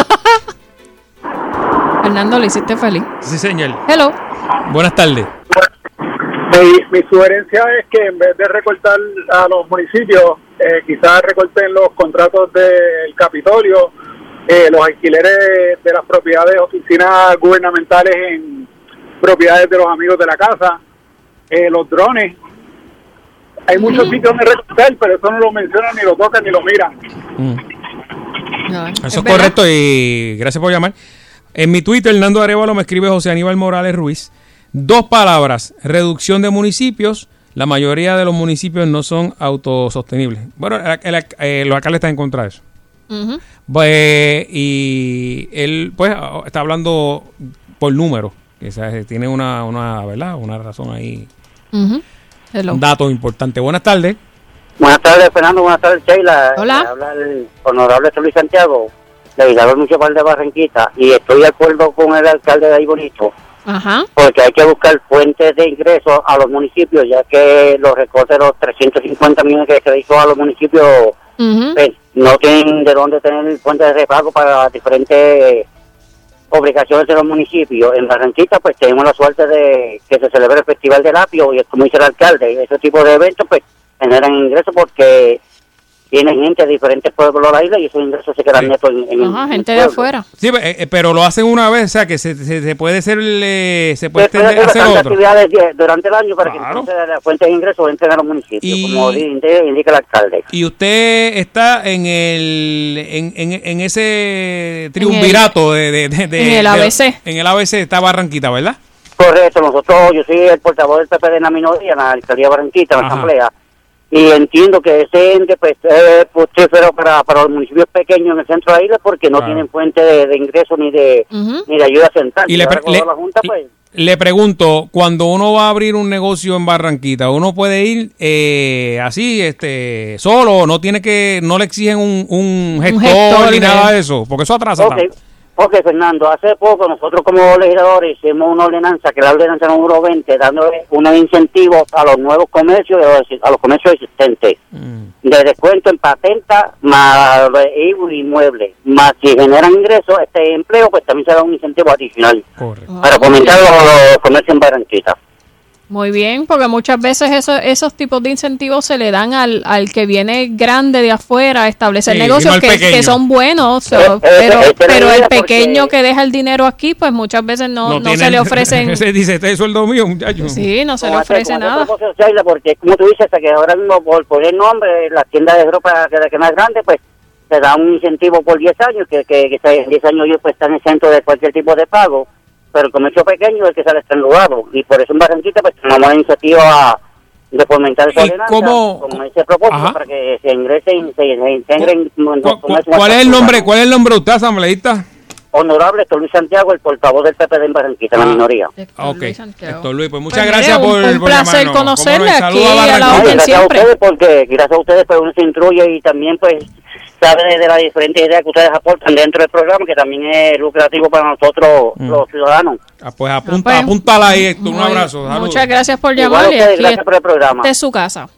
Fernando, ¿le hiciste feliz? Sí, señor. Hello. Buenas tardes. Mi sugerencia es que en vez de recortar a los municipios, quizás recorten los contratos del Capitolio, los alquileres de las propiedades, oficinas gubernamentales en propiedades de los amigos de la casa, los drones. Hay muchos sitios donde recortar, pero eso no lo mencionan, ni lo tocan, ni lo miran. No, eso es correcto y gracias por llamar. En mi Twitter, Hernando Arevalo, me escribe José Aníbal Morales Ruiz. 2 palabras: reducción de municipios. La mayoría de los municipios no son autosostenibles. Bueno, los alcaldes están en contra de eso. Y él, pues, está hablando por números. Tiene una ¿verdad? Una razón ahí. Un dato importante. Buenas tardes. Buenas tardes, Fernando. Buenas tardes, Sheila. Hola. Habla el honorable Luis Santiago, legislador municipal de Barranquita, y estoy de acuerdo con el alcalde de ahí bonito. Ajá. Porque hay que buscar fuentes de ingresos a los municipios, ya que los recortes de los 350 millones que se le hizo a los municipios pues, no tienen de dónde tener fuentes de repago para diferentes obligaciones de los municipios. En Barranquita pues tenemos la suerte de que se celebre el Festival del Apio y como dice el alcalde, ese tipo de eventos pues generan ingresos porque vienen gente de diferentes pueblos de la isla y esos ingresos se quedan netos en gente de afuera. Sí, pero lo hacen una vez, o sea que se puede hacer se puede hacer otro. Actividades durante el año para que entonces las fuentes de ingresos entren a los municipios, como indica el alcalde. Y usted está en ese triunvirato en el ABC. En el ABC está Barranquita, ¿verdad? Correcto, yo soy el portavoz del PP de la minoría en la alcaldía de Barranquita, en la asamblea. Y entiendo que ese ente pues es fructífero para los municipios pequeños en el centro de la isla porque no tienen fuente de ingreso ni de ayuda central. Y le pregunto, cuando uno va a abrir un negocio en Barranquita, ¿uno puede ir así, solo? ¿No le exigen un gestor ni nada de eso? Porque eso atrasa. Ok, Fernando, hace poco nosotros como legisladores hicimos una ordenanza, que es la ordenanza número 20, dándole unos incentivos a los nuevos comercios, a los comercios existentes, de descuento en patenta, más inmuebles, más si generan ingresos, empleo, pues también se da un incentivo adicional para fomentar los comercios en Barranquita. Muy bien, porque muchas veces esos tipos de incentivos se le dan al que viene grande de afuera a establecer negocios que son buenos, pero el pequeño que deja el dinero aquí, pues muchas veces no se le ofrecen. Dice, este es sueldo mío, muchacho. Sí, no se le ofrece nada. Porque como tú dices, que ahora mismo por poner nombre, las tiendas de ropa que más grande, pues se da un incentivo por 10 años, que 10 años ellos pues están exentos de cualquier tipo de pago. Pero el comercio pequeño es el que sale estrangulado, y por eso en Barranquita pues tomamos la iniciativa de fomentar esa ordenanza con ese propósito para que se integren. ¿Cuál es el nombre de usted, asambleísta? Honorable Héctor Luis Santiago, el portavoz del PP de Barranquita, la minoría. Ok, Héctor Luis, pues muchas gracias por un placer conocerle aquí a la orden siempre. Gracias a ustedes, pues uno se instruye y también pues sabe de las diferentes ideas que ustedes aportan dentro del programa, que también es lucrativo para nosotros los ciudadanos. Pues apúntala ahí, Héctor, un abrazo. Saludos. Muchas gracias por llamarle. Gracias por el programa. De su casa.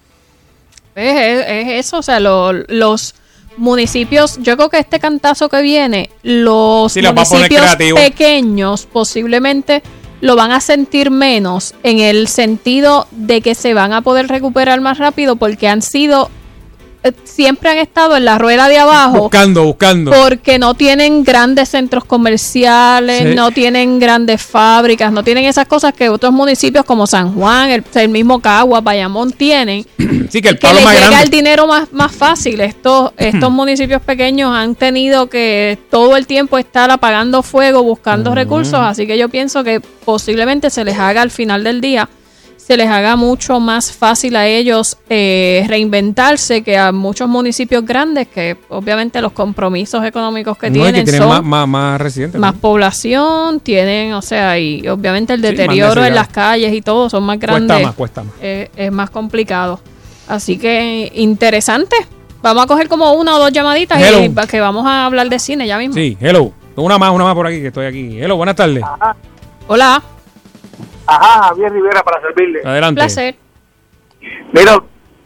Es eso, o sea, los municipios, yo creo que este cantazo que viene, los municipios pequeños posiblemente lo van a sentir menos, en el sentido de que se van a poder recuperar más rápido, porque siempre han estado en la rueda de abajo buscando porque no tienen grandes centros comerciales, no tienen grandes fábricas, no tienen esas cosas que otros municipios como San Juan, el mismo Cagua, Bayamón tienen. Sí, que el palo les más llega grande. el dinero más fácil. Estos municipios pequeños han tenido que todo el tiempo estar apagando fuego, buscando recursos, así que yo pienso que posiblemente se les haga al final del día, se les haga mucho más fácil a ellos reinventarse que a muchos municipios grandes, que obviamente los compromisos económicos que tienen son más recientes, más población, tienen, o sea, y obviamente el deterioro en las calles y todo son más grandes. Cuesta más. Es más complicado. Así que interesante. Vamos a coger como una o dos llamaditas y que vamos a hablar de cine ya mismo. Sí, hello. Una más por aquí, que estoy aquí. Hello, buenas tardes. Ajá. Hola. Ajá, Javier Rivera, para servirle. Adelante. Un placer. Mira,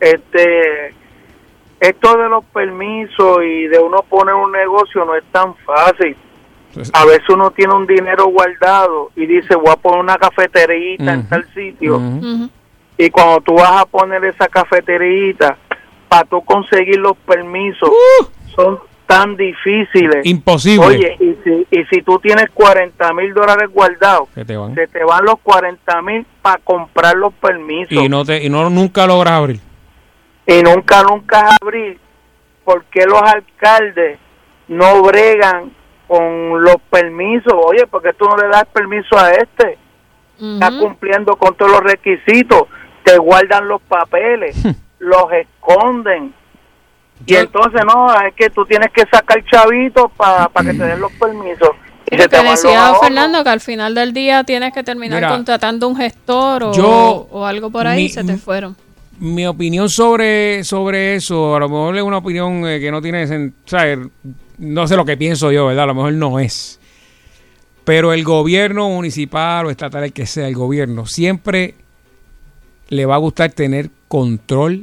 esto de los permisos y de uno poner un negocio no es tan fácil. A veces uno tiene un dinero guardado y dice, voy a poner una cafeterita en tal sitio. Y cuando tú vas a poner esa cafeterita, para tú conseguir los permisos, son tan difíciles. Imposible. Oye, y si tú tienes $40,000 guardados, se te van los $40,000 para comprar los permisos. Y nunca logras abrir. Y nunca abrir. ¿Por qué los alcaldes no bregan con los permisos? Oye, ¿por qué tú no le das permiso a este? Está cumpliendo con todos los requisitos. Te guardan los papeles, los esconden. Y entonces no, es que tú tienes que sacar chavitos para que te den los permisos. Y lo que decía Fernando, que al final del día tienes que terminar contratando un gestor o algo por ahí, se te fueron. Mi opinión sobre eso, a lo mejor es una opinión que no tiene sentido, no sé lo que pienso yo, ¿verdad? A lo mejor no es. Pero el gobierno municipal o estatal, el que sea el gobierno, siempre le va a gustar tener control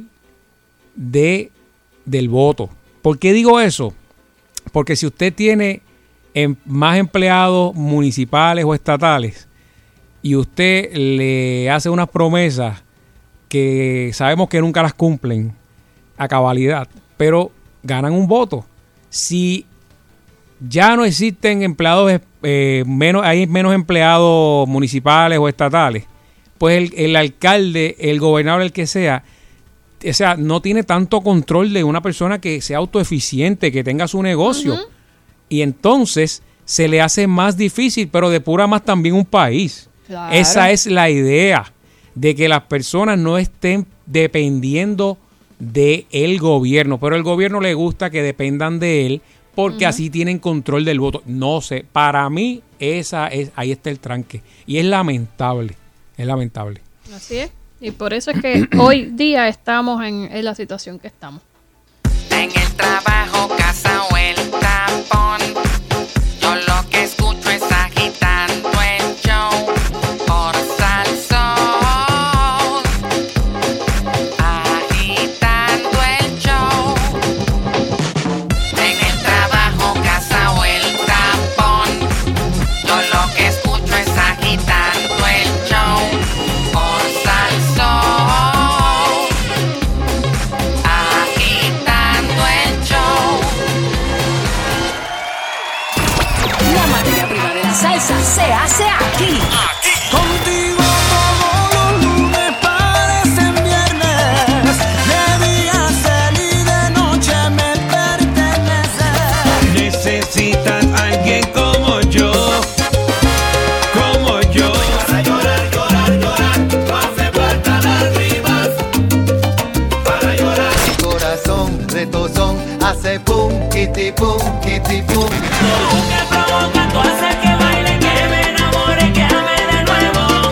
del voto. ¿Por qué digo eso? Porque si usted tiene más empleados municipales o estatales y usted le hace unas promesas que sabemos que nunca las cumplen a cabalidad, pero ganan un voto. Si ya no existen empleados, hay menos empleados municipales o estatales, pues el alcalde, el gobernador, el que sea, o sea, no tiene tanto control de una persona que sea autoeficiente, que tenga su negocio. Y entonces se le hace más difícil, pero depura más también un país. Claro. Esa es la idea, de que las personas no estén dependiendo del gobierno, pero el gobierno le gusta que dependan de él, porque así tienen control del voto. No sé, para mí ahí está el tranque. Y es lamentable, Así es. Y por eso es que hoy día estamos en la situación que estamos. En el trabajo, casa o el tapón, yo lo que escucho es agitando el show por Salsón. Agitando el show. En el trabajo, casa o el tapón, yo lo que escucho es agitando el show por casa se hace aquí. Contigo todos los lunes parecen viernes, de día ser y de noche me pertenece. Necesitas alguien como yo, como yo. Para llorar, llorar, llorar, no hace falta lágrimas. Para llorar. Mi corazón retozón hace pum, kitty pum, kitty pum. Tú que provocas, tú haces que baile, que me enamore, que ame de nuevo.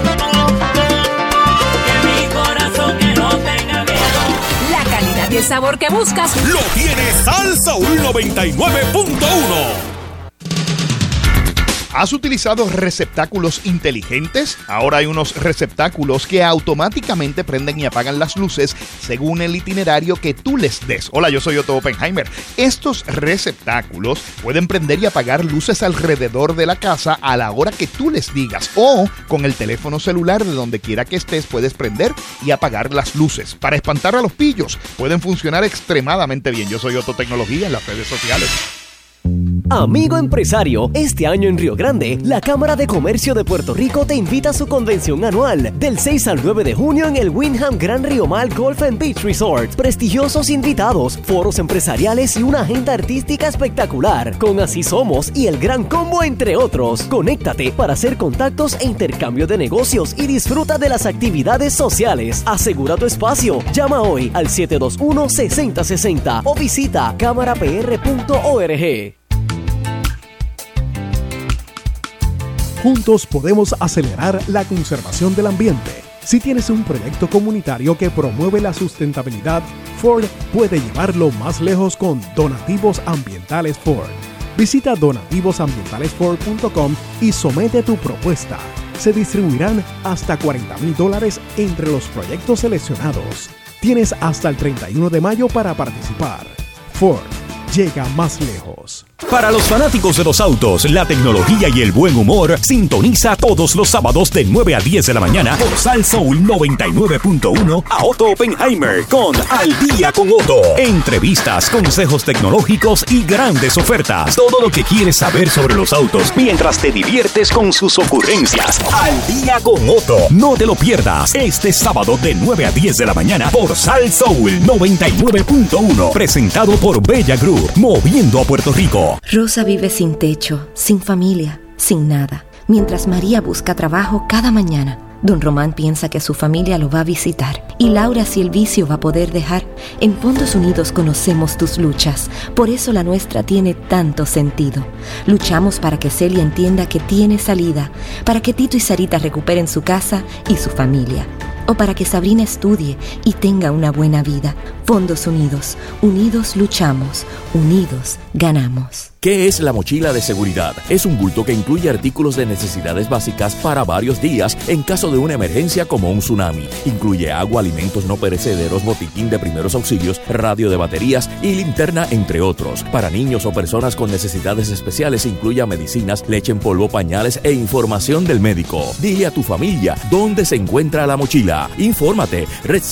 Que mi corazón que no tenga miedo. La calidad y el sabor que buscas lo tiene Sal Soul 99.1. ¿Has utilizado receptáculos inteligentes? Ahora hay unos receptáculos que automáticamente prenden y apagan las luces según el itinerario que tú les des. Hola, yo soy Otto Oppenheimer. Estos receptáculos pueden prender y apagar luces alrededor de la casa a la hora que tú les digas, o con el teléfono celular de donde quiera que estés puedes prender y apagar las luces. Para espantar a los pillos, pueden funcionar extremadamente bien. Yo soy Otto Tecnología en las redes sociales. Amigo empresario, este año en Río Grande, la Cámara de Comercio de Puerto Rico te invita a su convención anual del 6 al 9 de junio en el Wyndham Gran Río Mal Golf and Beach Resort. Prestigiosos invitados, foros empresariales y una agenda artística espectacular, con Así Somos y el Gran Combo, entre otros. Conéctate para hacer contactos e intercambio de negocios y disfruta de las actividades sociales. Asegura tu espacio. Llama hoy al 721-6060 o visita cámarapr.org. Juntos podemos acelerar la conservación del ambiente. Si tienes un proyecto comunitario que promueve la sustentabilidad, Ford puede llevarlo más lejos con Donativos Ambientales Ford. Visita donativosambientalesford.com y somete tu propuesta. Se distribuirán hasta $40,000 entre los proyectos seleccionados. Tienes hasta el 31 de mayo para participar. Ford llega más lejos. Para los fanáticos de los autos, la tecnología y el buen humor, sintoniza todos los sábados de 9 a 10 de la mañana por Sal Soul 99.1 a Otto Oppenheimer con Al Día con Otto. Entrevistas, consejos tecnológicos y grandes ofertas. Todo lo que quieres saber sobre los autos mientras te diviertes con sus ocurrencias. Al Día con Otto. No te lo pierdas este sábado de 9 a 10 de la mañana por Sal Soul 99.1. Presentado por Bella Group, moviendo a Puerto Rico. Rosa vive sin techo, sin familia, sin nada. Mientras María busca trabajo cada mañana, Don Román piensa que su familia lo va a visitar. Y Laura, si el vicio va a poder dejar. En Fondos Unidos conocemos tus luchas. Por eso la nuestra tiene tanto sentido. Luchamos para que Celia entienda que tiene salida. Para que Tito y Sarita recuperen su casa y su familia. O para que Sabrina estudie y tenga una buena vida. Fondos Unidos. Unidos luchamos. Unidos ganamos. ¿Qué es la mochila de seguridad? Es un bulto que incluye artículos de necesidades básicas para varios días en caso de una emergencia como un tsunami. Incluye agua, alimentos no perecederos, botiquín de primeros auxilios, radio de baterías y linterna, entre otros. Para niños o personas con necesidades especiales incluye medicinas, leche en polvo, pañales e información del médico. Dile a tu familia dónde se encuentra la mochila. Infórmate,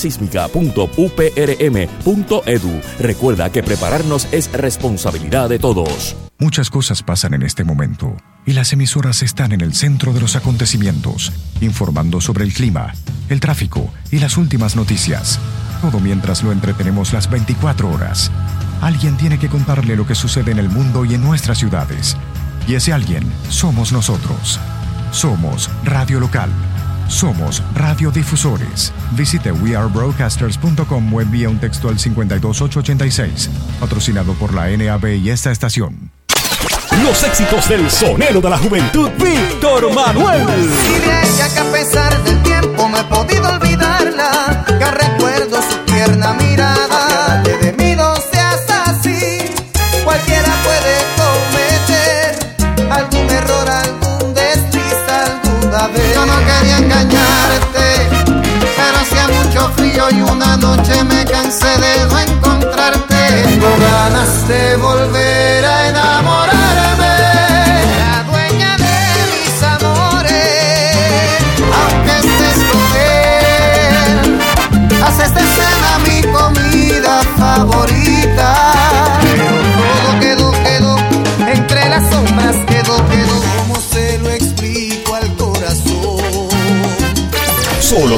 redsísmica.uprm.edu. Recuerda que prepararnos es responsabilidad de todos. Muchas cosas pasan en este momento y las emisoras están en el centro de los acontecimientos, informando sobre el clima, el tráfico y las últimas noticias. Todo mientras lo entretenemos las 24 horas. Alguien tiene que contarle lo que sucede en el mundo y en nuestras ciudades. Y ese alguien somos nosotros. Somos Radio Local. Somos radiodifusores. Visite wearebroadcasters.com o envía un texto al 52886. Patrocinado por la NAB y esta estación. Los éxitos del sonero de la juventud, Víctor Manuel. Y de ella que a pesar del tiempo no he podido olvidarla, que recuerdo su tierna mirada, que de mí no seas así. Cualquiera puede cometer algún error, algún desliz, alguna vez. Yo no quería engañarte, pero hacía mucho frío y una noche me cansé de no encontrarte. Tengo ganas de volver a enamorarme, la dueña de mis amores. Aunque estés con él, haces de cena mi comida favorita. Pero todo quedó entre las sombras, quedó, ¿cómo se lo explico?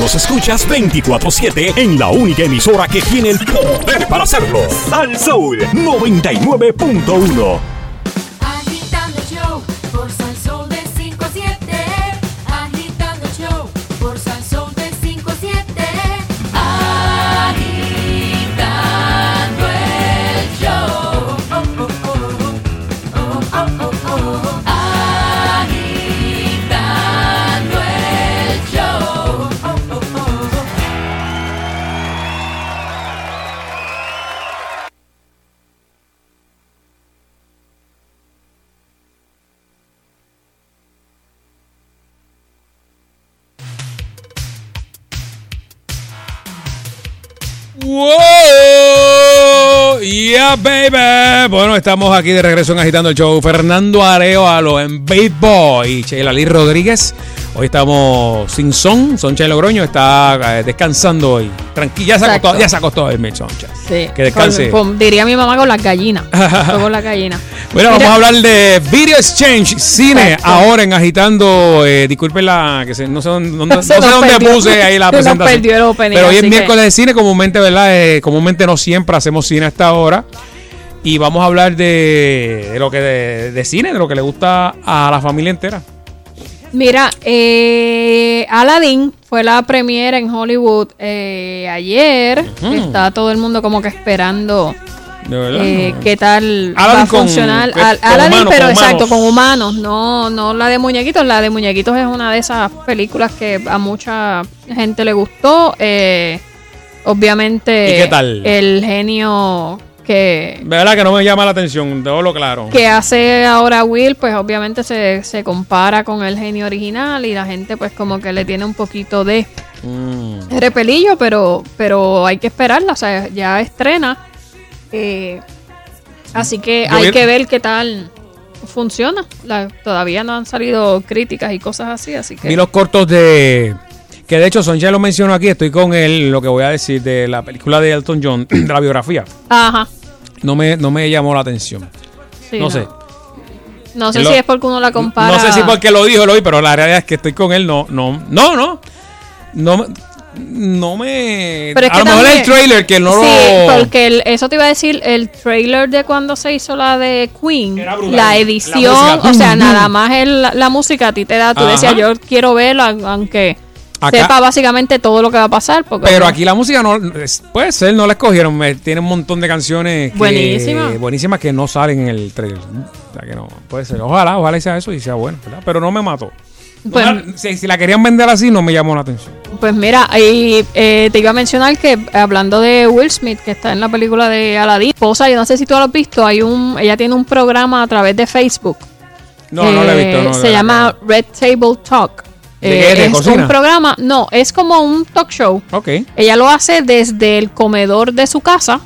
los escuchas 24/7 en la única emisora que tiene el poder para hacerlo. Sal Soul 99.1. Agitando el show por Sal Soul de 5 a 7. Agitando el show por Sal Soul de 5 a 7. Agitando el show. Agitando el show. ¡Wow! ¡Yeah, baby! Bueno, estamos aquí de regreso en Agitando el Show. Fernando Arevalo en Big Boy. Sheila Lee Rodríguez. Hoy estamos sin son. Soncha Logroño está descansando hoy. Tranquila, ya se acostó a dormir, Soncha. Sí. Que descanse. Diría mi mamá con las gallinas. Con las gallinas. Bueno, vamos a hablar de Video Exchange Cine. Exacto. Ahora en Agitando. Disculpen no sé dónde puse ahí la presentación. Perdió el opening, pero hoy es así miércoles de cine, comúnmente, ¿verdad? Comúnmente no siempre hacemos cine a esta hora. Y vamos a hablar de lo que de cine, de lo que le gusta a la familia entera. Mira, Aladdin fue la premiere en Hollywood ayer. Está todo el mundo como que esperando qué tal Aladdin va a funcionar. Aladdin, pero exacto, con humanos, no la de muñequitos. La de muñequitos es una de esas películas que a mucha gente le gustó. Obviamente, ¿y qué tal? El genio que... ¿Verdad que no me llama la atención? Debo lo claro. Que hace ahora Will, pues obviamente se compara con el genio original y la gente pues como que le tiene un poquito de repelillo, pero hay que esperarla, o sea, ya estrena. Así que hay que ver qué tal funciona. Todavía no han salido críticas y cosas así que... Vi los cortos de... Que de hecho Soncha lo mencionó aquí, estoy con él, lo que voy a decir de la película de Elton John, de la biografía. Ajá. No me llamó la atención. Sí, no sé. No sé si es porque uno la compara. No sé si porque lo vi, pero la realidad es que estoy con él, no me... Pero es que a lo mejor el trailer que no sí, lo... porque eso te iba a decir, el trailer de cuando se hizo la de Queen, la edición, o sea, nada más la música a ti te da, tú decías, yo quiero verlo, aunque... Acá, sepa básicamente todo lo que va a pasar. Pero aquí la música no puede ser, no la escogieron. Tiene un montón de canciones buenísimas que no salen en el trailer. O sea que no, puede ser. Ojalá sea eso y sea bueno, ¿verdad? Pero no me mató. Pues, si la querían vender así, no me llamó la atención. Pues mira, te iba a mencionar que hablando de Will Smith, que está en la película de Aladdin, esposa, yo no sé si tú lo has visto, ella tiene un programa a través de Facebook. No lo he visto. Se llama Red Table Talk. ¿De es cocina? Un programa, no, es como un talk show. Okay. Ella lo hace desde el comedor de su casa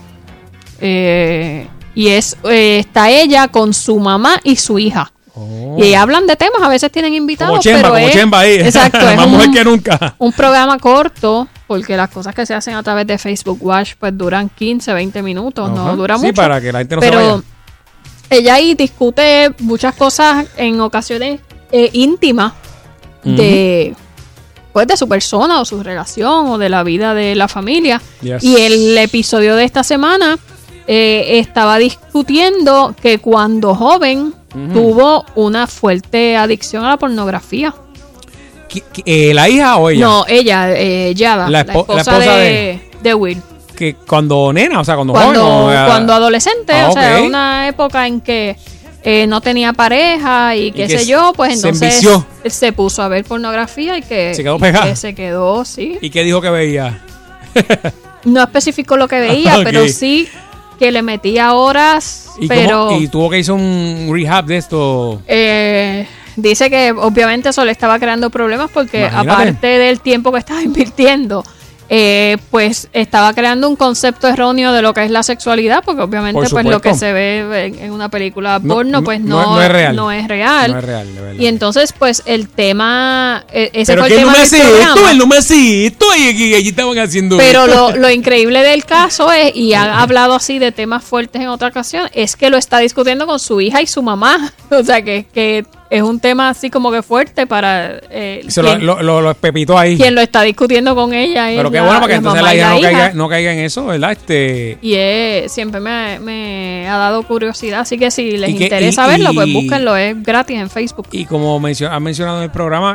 y está ella con su mamá y su hija. Y hablan de temas, a veces tienen invitados, como Chemba, pero Chemba ahí. Exacto, es más mujer que nunca. Un programa corto, porque las cosas que se hacen a través de Facebook Watch pues duran 15, 20 minutos, no dura mucho. Sí, para que la gente no se vaya. Ella ahí discute muchas cosas en ocasiones íntimas de su persona o su relación o de la vida de la familia. Yes. Y el episodio de esta semana estaba discutiendo que cuando joven tuvo una fuerte adicción a la pornografía. ¿La hija o ella? No, ella, Yada, la esposa de Will. Que cuando nena, o sea, cuando joven. Cuando adolescente, o sea, una época en que no tenía pareja y qué sé yo, pues entonces se puso a ver pornografía y que se quedó pegada. Se quedó, sí. ¿Y qué dijo que veía? No especificó lo que veía, pero sí que le metía horas. ¿Y tuvo que hizo un rehab de esto? Dice que obviamente eso le estaba creando problemas porque aparte del tiempo que estaba invirtiendo, pues estaba creando un concepto erróneo de lo que es la sexualidad, porque obviamente pues lo que se ve en una película porno pues no es real. No es real. No es real, de verdad. Y entonces pues el tema, ese pero fue el tema del programa. No me hace esto, y allí estaban haciendo. Pero lo increíble del caso es, y ha hablado así de temas fuertes en otra ocasión, es que lo está discutiendo con su hija y su mamá. O sea que es un tema así como que fuerte para... lo pepitó ahí. Quien lo está discutiendo con ella. Pero qué bueno, porque entonces la hija no caiga en eso, ¿verdad? Y siempre me ha dado curiosidad, así que si les interesa verlo, pues búsquenlo, es gratis en Facebook. Y como han mencionado en el programa,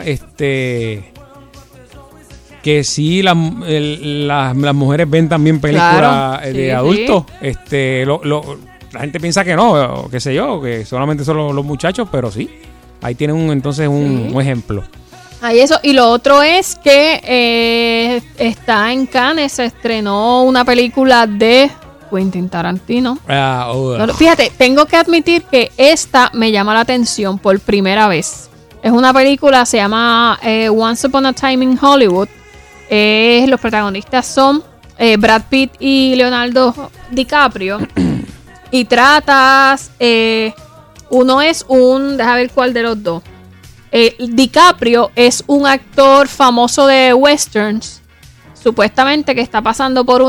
que sí, las mujeres ven también películas de adultos. La gente piensa que no, qué sé yo, que solamente son los muchachos, pero sí. Ahí tienen entonces un ejemplo. Ahí eso. Y lo otro es que está en Cannes, se estrenó una película de Quentin Tarantino. Fíjate, tengo que admitir que esta me llama la atención por primera vez. Es una película, se llama Once Upon a Time in Hollywood. Los protagonistas son Brad Pitt y Leonardo DiCaprio. Y tratas, uno es déjame ver cuál de los dos. DiCaprio es un actor famoso de westerns, supuestamente que está pasando por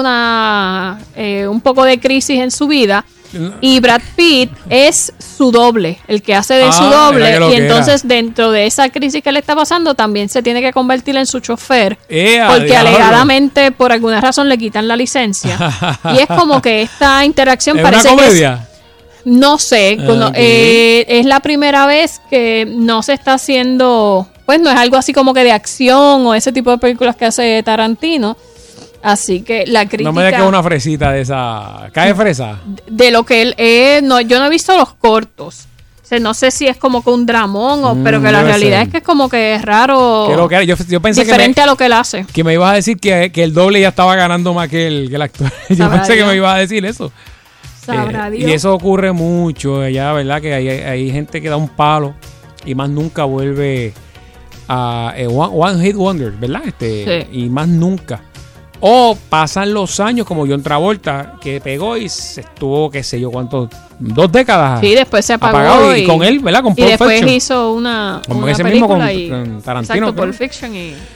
un poco de crisis en su vida. Y Brad Pitt es su doble, el que hace de su doble. Y entonces dentro de esa crisis que le está pasando también se tiene que convertir en su chofer. Porque alegadamente por alguna razón le quitan la licencia. Y es como que esta interacción parece una comedia. No sé, es la primera vez que no se está haciendo, pues no es algo así como que de acción o ese tipo de películas que hace Tarantino. Así que la crítica... No me digas que es una fresita de esa... ¿Cae fresa? De lo que él... yo no he visto los cortos. O sea, no sé si es como que un dramón, pero que la realidad es que es como que es raro. Yo pensé diferente a lo que él hace. Que me ibas a decir que el doble ya estaba ganando más que el actor. Yo pensé que me ibas a decir eso. Sabrá Dios. Y eso ocurre mucho allá, ¿verdad? Que hay gente que da un palo y más nunca vuelve a One Hit Wonder, ¿verdad? Sí. Y más nunca. O pasan los años como John Travolta, que pegó y se estuvo, qué sé yo, ¿cuántos? 2 décadas. Sí, después se apagó. Y con él, ¿verdad? Con Pulp Fiction. Y después hizo una ese película mismo con Tarantino. Exacto, Pulp Fiction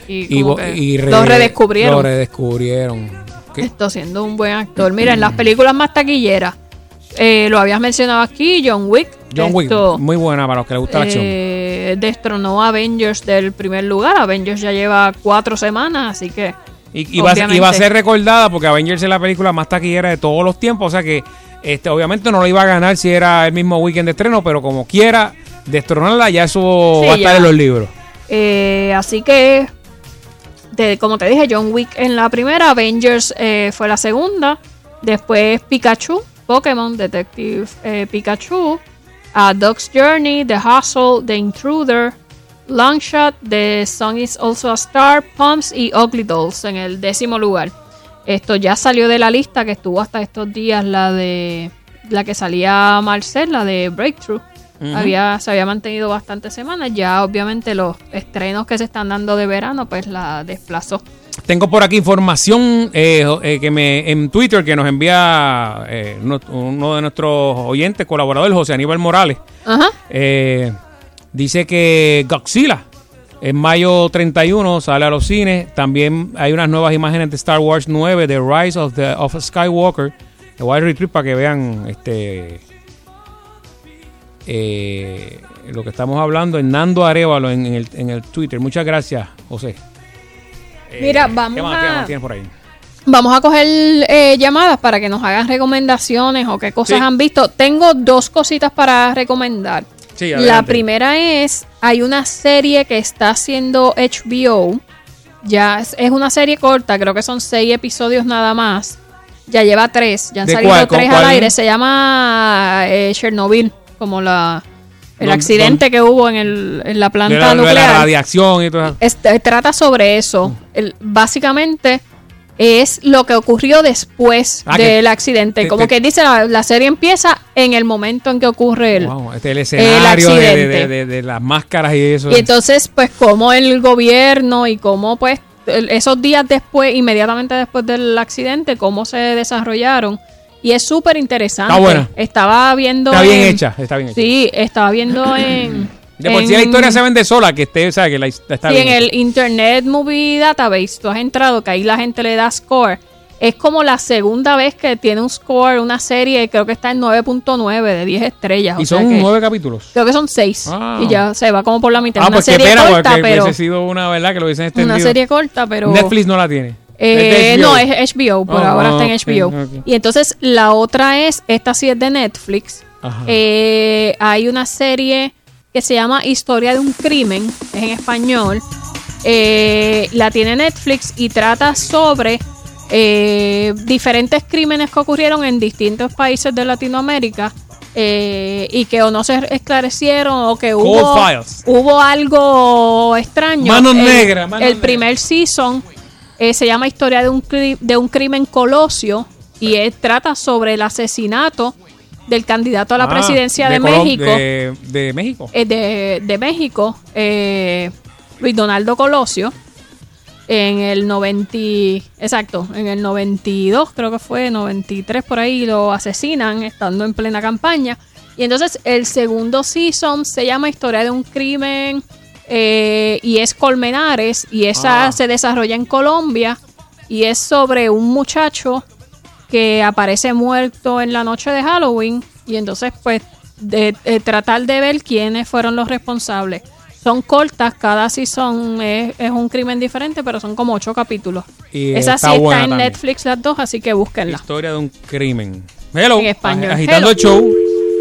y lo redescubrieron. Lo redescubrieron. Esto siendo un buen actor. Mira, en las películas más taquilleras, lo habías mencionado aquí, John Wick. John Wick, muy buena para los que les gusta la acción. Destronó a Avengers del primer lugar. Avengers ya lleva 4 semanas, así que... Y va a ser recordada porque Avengers es la película más taquillera de todos los tiempos. O sea que obviamente no lo iba a ganar si era el mismo weekend de estreno, pero como quiera, destronarla, ya eso va a estar en los libros. Así que, como te dije, John Wick en la primera, Avengers fue la segunda. Después Pikachu, Pokémon, Detective Pikachu, Dog's Journey, The Hustle, The Intruder, Longshot, The Sun Is Also a Star, Pumps y Ugly Dolls en el 10º lugar. Esto ya salió de la lista que estuvo hasta estos días, la que salía Marcel, la de Breakthrough. Se había mantenido bastantes semanas. Ya obviamente los estrenos que se están dando de verano pues la desplazó. Tengo por aquí información en Twitter que nos envía uno de nuestros oyentes, colaboradores, José Aníbal Morales. Dice que Godzilla en mayo 31 sale a los cines. También hay unas nuevas imágenes de Star Wars 9, The Rise of Skywalker. Le voy a retweet para que vean lo que estamos hablando. Hernando Arévalo en el Twitter. Muchas gracias, José. Mira, vamos a coger llamadas para que nos hagan recomendaciones o qué cosas han visto. Tengo 2 cositas para recomendar. Sí, la primera hay una serie que está haciendo HBO. Ya es una serie corta, creo que son 6 episodios nada más. Ya lleva 3, ya han salido 3 al aire. Se llama Chernobyl, como el accidente que hubo en la planta nuclear. De la radiación y todo eso. Trata sobre eso. Básicamente es lo que ocurrió después del accidente. Como que dice, la serie empieza en el momento en que ocurre el escenario accidente. de las máscaras y eso. Y entonces, pues, cómo el gobierno y cómo, pues, esos días después, inmediatamente después del accidente, cómo se desarrollaron. Y es súper interesante. Está buena. Estaba viendo... Está bien hecha. Sí, estaba viendo en... De por sí la historia se vende sola, que sabe que está bien. En el Internet Movie Database, tú has entrado, que ahí la gente le da score. Es como la segunda vez que tiene un score, una serie, creo que está en 9.9 de 10 estrellas. ¿Y son 9 capítulos? Creo que son 6. Y ya se va como por la mitad. Ah, una pues serie qué pena, corta, porque pero... hubiese sido una, ¿verdad? Que lo hubiesen extendido. Una serie corta, pero... Netflix no la tiene. No, es HBO, por ahora está en HBO. Okay. Y entonces la otra es, esta sí es de Netflix. Hay una serie que se llama Historia de un crimen, es en español. La tiene Netflix y trata sobre diferentes crímenes que ocurrieron en distintos países de Latinoamérica y que o no se esclarecieron o que hubo algo extraño. Manos negras. El primer season se llama Historia de un crimen colosio y trata sobre el asesinato del candidato a la presidencia de México. ¿De México? De México, Luis Donaldo Colosio. En el 92, creo que fue, 93 por ahí, lo asesinan estando en plena campaña. Y entonces el segundo season se llama Historia de un crimen y es Colmenares y esa se desarrolla en Colombia y es sobre un muchacho que aparece muerto en la noche de Halloween y entonces pues de tratar de ver quiénes fueron los responsables. Son cortas, cada season es un crimen diferente, pero son como 8 capítulos. Y esa sí está en Netflix las dos, así que búsquenla. Historia de un crimen. Hello. En español. Agitando el show.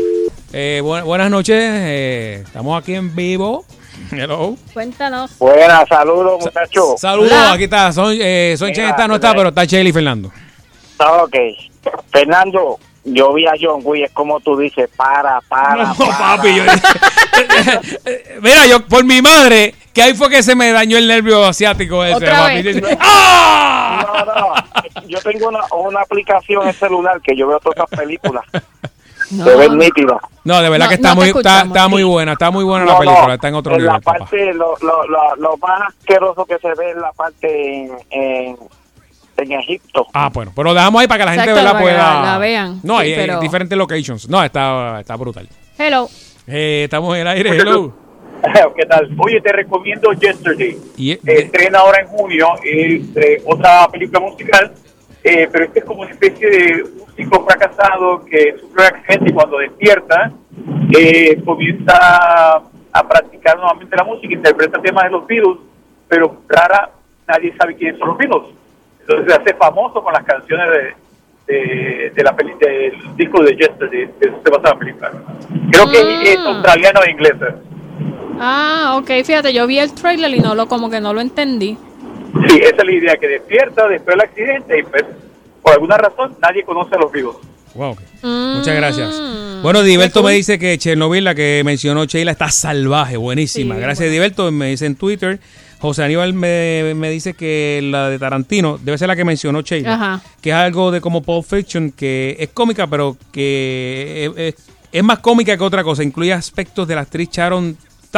Buenas noches. Estamos aquí en vivo. Hello. Cuéntanos. Buenas, saludos, muchachos. Saludos, aquí está. Sonchen no está, pero está Chely y Fernando. Ok. Fernando, yo vi a John Wick, es como tú dices, para. Papi, mira, yo por mi madre, que ahí fue que se me dañó el nervio asiático ese, papi. No, yo tengo una aplicación en el celular que yo veo todas esas películas. Se ven nítidas. No, de verdad que está muy buena, la película, está en otro nivel. La parte, lo más asqueroso que se ve es la parte en Egipto. Bueno, pero lo dejamos ahí para que la gente pueda la vean. No, hay diferentes locations. No, está brutal. Hello. Estamos en el aire. Hello. ¿Qué tal? Oye, te recomiendo Yesterday. Estrena ahora en junio. Otra película musical, pero este es como una especie de músico fracasado que sufre un accidente y cuando despierta comienza a practicar nuevamente la música, interpreta temas de los Beatles, pero nadie sabe quiénes son los Beatles. Entonces se hace famoso con las canciones del disco de Yesterday, que se basa en la película. Creo que es australiano e inglés. Ok, fíjate, yo vi el trailer y como que no lo entendí. Sí, esa es la idea, que despierta después del accidente y pues, por alguna razón nadie conoce a los vivos. Wow. Muchas gracias. Bueno, Diberto me dice que Chernobyl, la que mencionó Sheila, está salvaje, buenísima. Sí, gracias, Diberto. Me dice en Twitter. José Aníbal me dice que la de Tarantino debe ser la que mencionó Sheila, que es algo de como Pulp Fiction, que es cómica, pero que es más cómica que otra cosa. Incluye aspectos de la actriz Sharon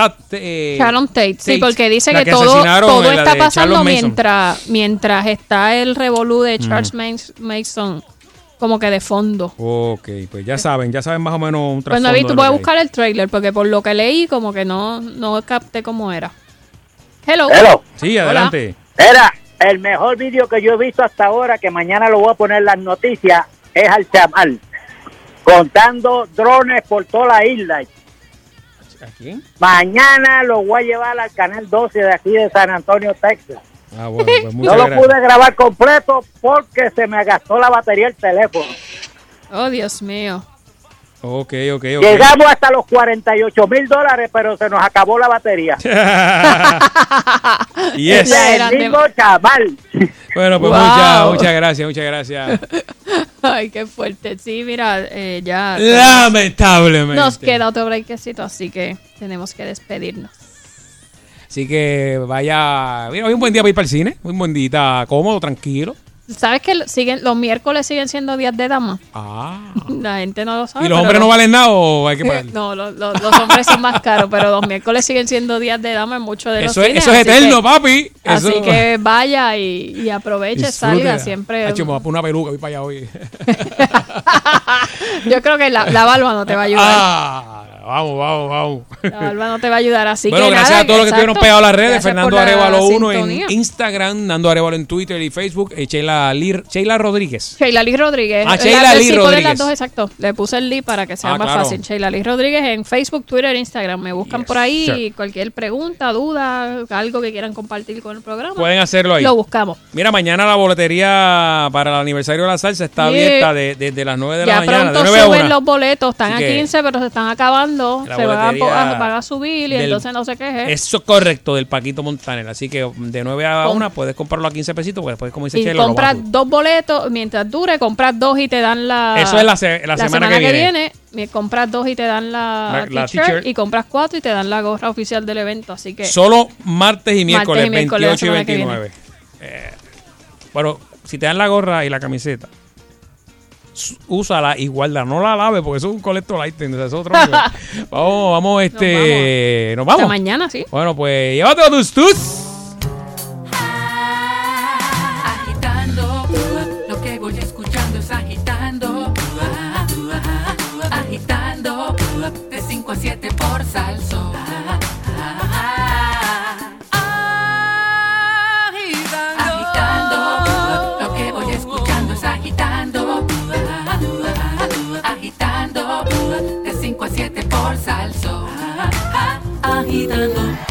Tate. Sí, porque dice que todo está pasando mientras está el revolú de Charles Manson como que de fondo. Ok, pues ya saben más o menos un trasfondo. Bueno, tú puedes buscar el trailer porque por lo que leí como que no capté cómo era. Hello. Sí, adelante. Era el mejor vídeo que yo he visto hasta ahora, que mañana lo voy a poner en las noticias, es al chamal contando drones por toda la isla. ¿Aquí? Mañana lo voy a llevar al canal 12 de aquí de San Antonio, Texas. Bueno, pues no lo pude grabar completo porque se me gastó la batería del teléfono. Oh, Dios mío. Ok. Llegamos hasta los $48,000, pero se nos acabó la batería. Yes. El mismo chaval. Bueno, pues muchas gracias. Ay, qué fuerte. Sí, mira, ya. Lamentablemente. Nos queda otro breakcito, así que tenemos que despedirnos. Así que vaya. Mira, hoy un buen día para ir para el cine. Un buen día cómodo, tranquilo. ¿Sabes que los miércoles siguen siendo días de dama? La gente no lo sabe. ¿Y los hombres no valen nada o hay que pagar? No, los hombres son más caros, pero los miércoles siguen siendo días de dama en muchos de los cines. Eso es eterno, papi. Así que vaya y aproveche, salga siempre. Me voy a poner una peluca, voy para allá hoy. Yo creo que la barba no te va a ayudar. Vamos. La barba no te va a ayudar, así bueno, que gracias nada, a todos los que estuvieron pegados a las redes. Gracias Fernando por la Arevalo 1 en sintonía. Instagram, Nando Arevalo en Twitter y Facebook, Sheila Rodríguez. Sheila Lee Rodríguez. Sheila Lee sí, Rodríguez. poner las dos, exacto. Le puse el Lee para que sea más claro. fácil. Sheila Lee Rodríguez en Facebook, Twitter, Instagram. Me buscan por ahí y cualquier pregunta, duda, algo que quieran compartir con el programa. Pueden hacerlo ahí. Lo buscamos. Mira, mañana la boletería para el aniversario de la salsa está abierta desde las 9 de la mañana. Ya pronto de 9 a suben 1. los boletos. Están a Así que 15, pero se están acabando. la Se van boletería a subir y entonces no se queje. Eso es correcto, del Paquito Montaner. Así que de 9 a 1 puedes comprarlo a 15 pesitos, porque después, como dice Y Chelo, compras 2 boletos, mientras dure, compras 2 y te dan la... Eso es la semana que viene. Compras 2 y te dan la t-shirt, y compras 4 y te dan la gorra oficial del evento, así que... Solo martes y miércoles, 28 y la 29. Bueno, si te dan la gorra y la camiseta, úsala y guarda, no la laves porque eso es un collector item, es otro nivel. vamos, nos vamos. Hasta mañana, sí. Bueno, pues llévate a tus Agitando, lo que voy escuchando es agitando, agitando, de 5 a 7 por Salsón. Agitando, lo que voy escuchando es agitando, agitando, de 5 a 7 por Salsón. Agitando.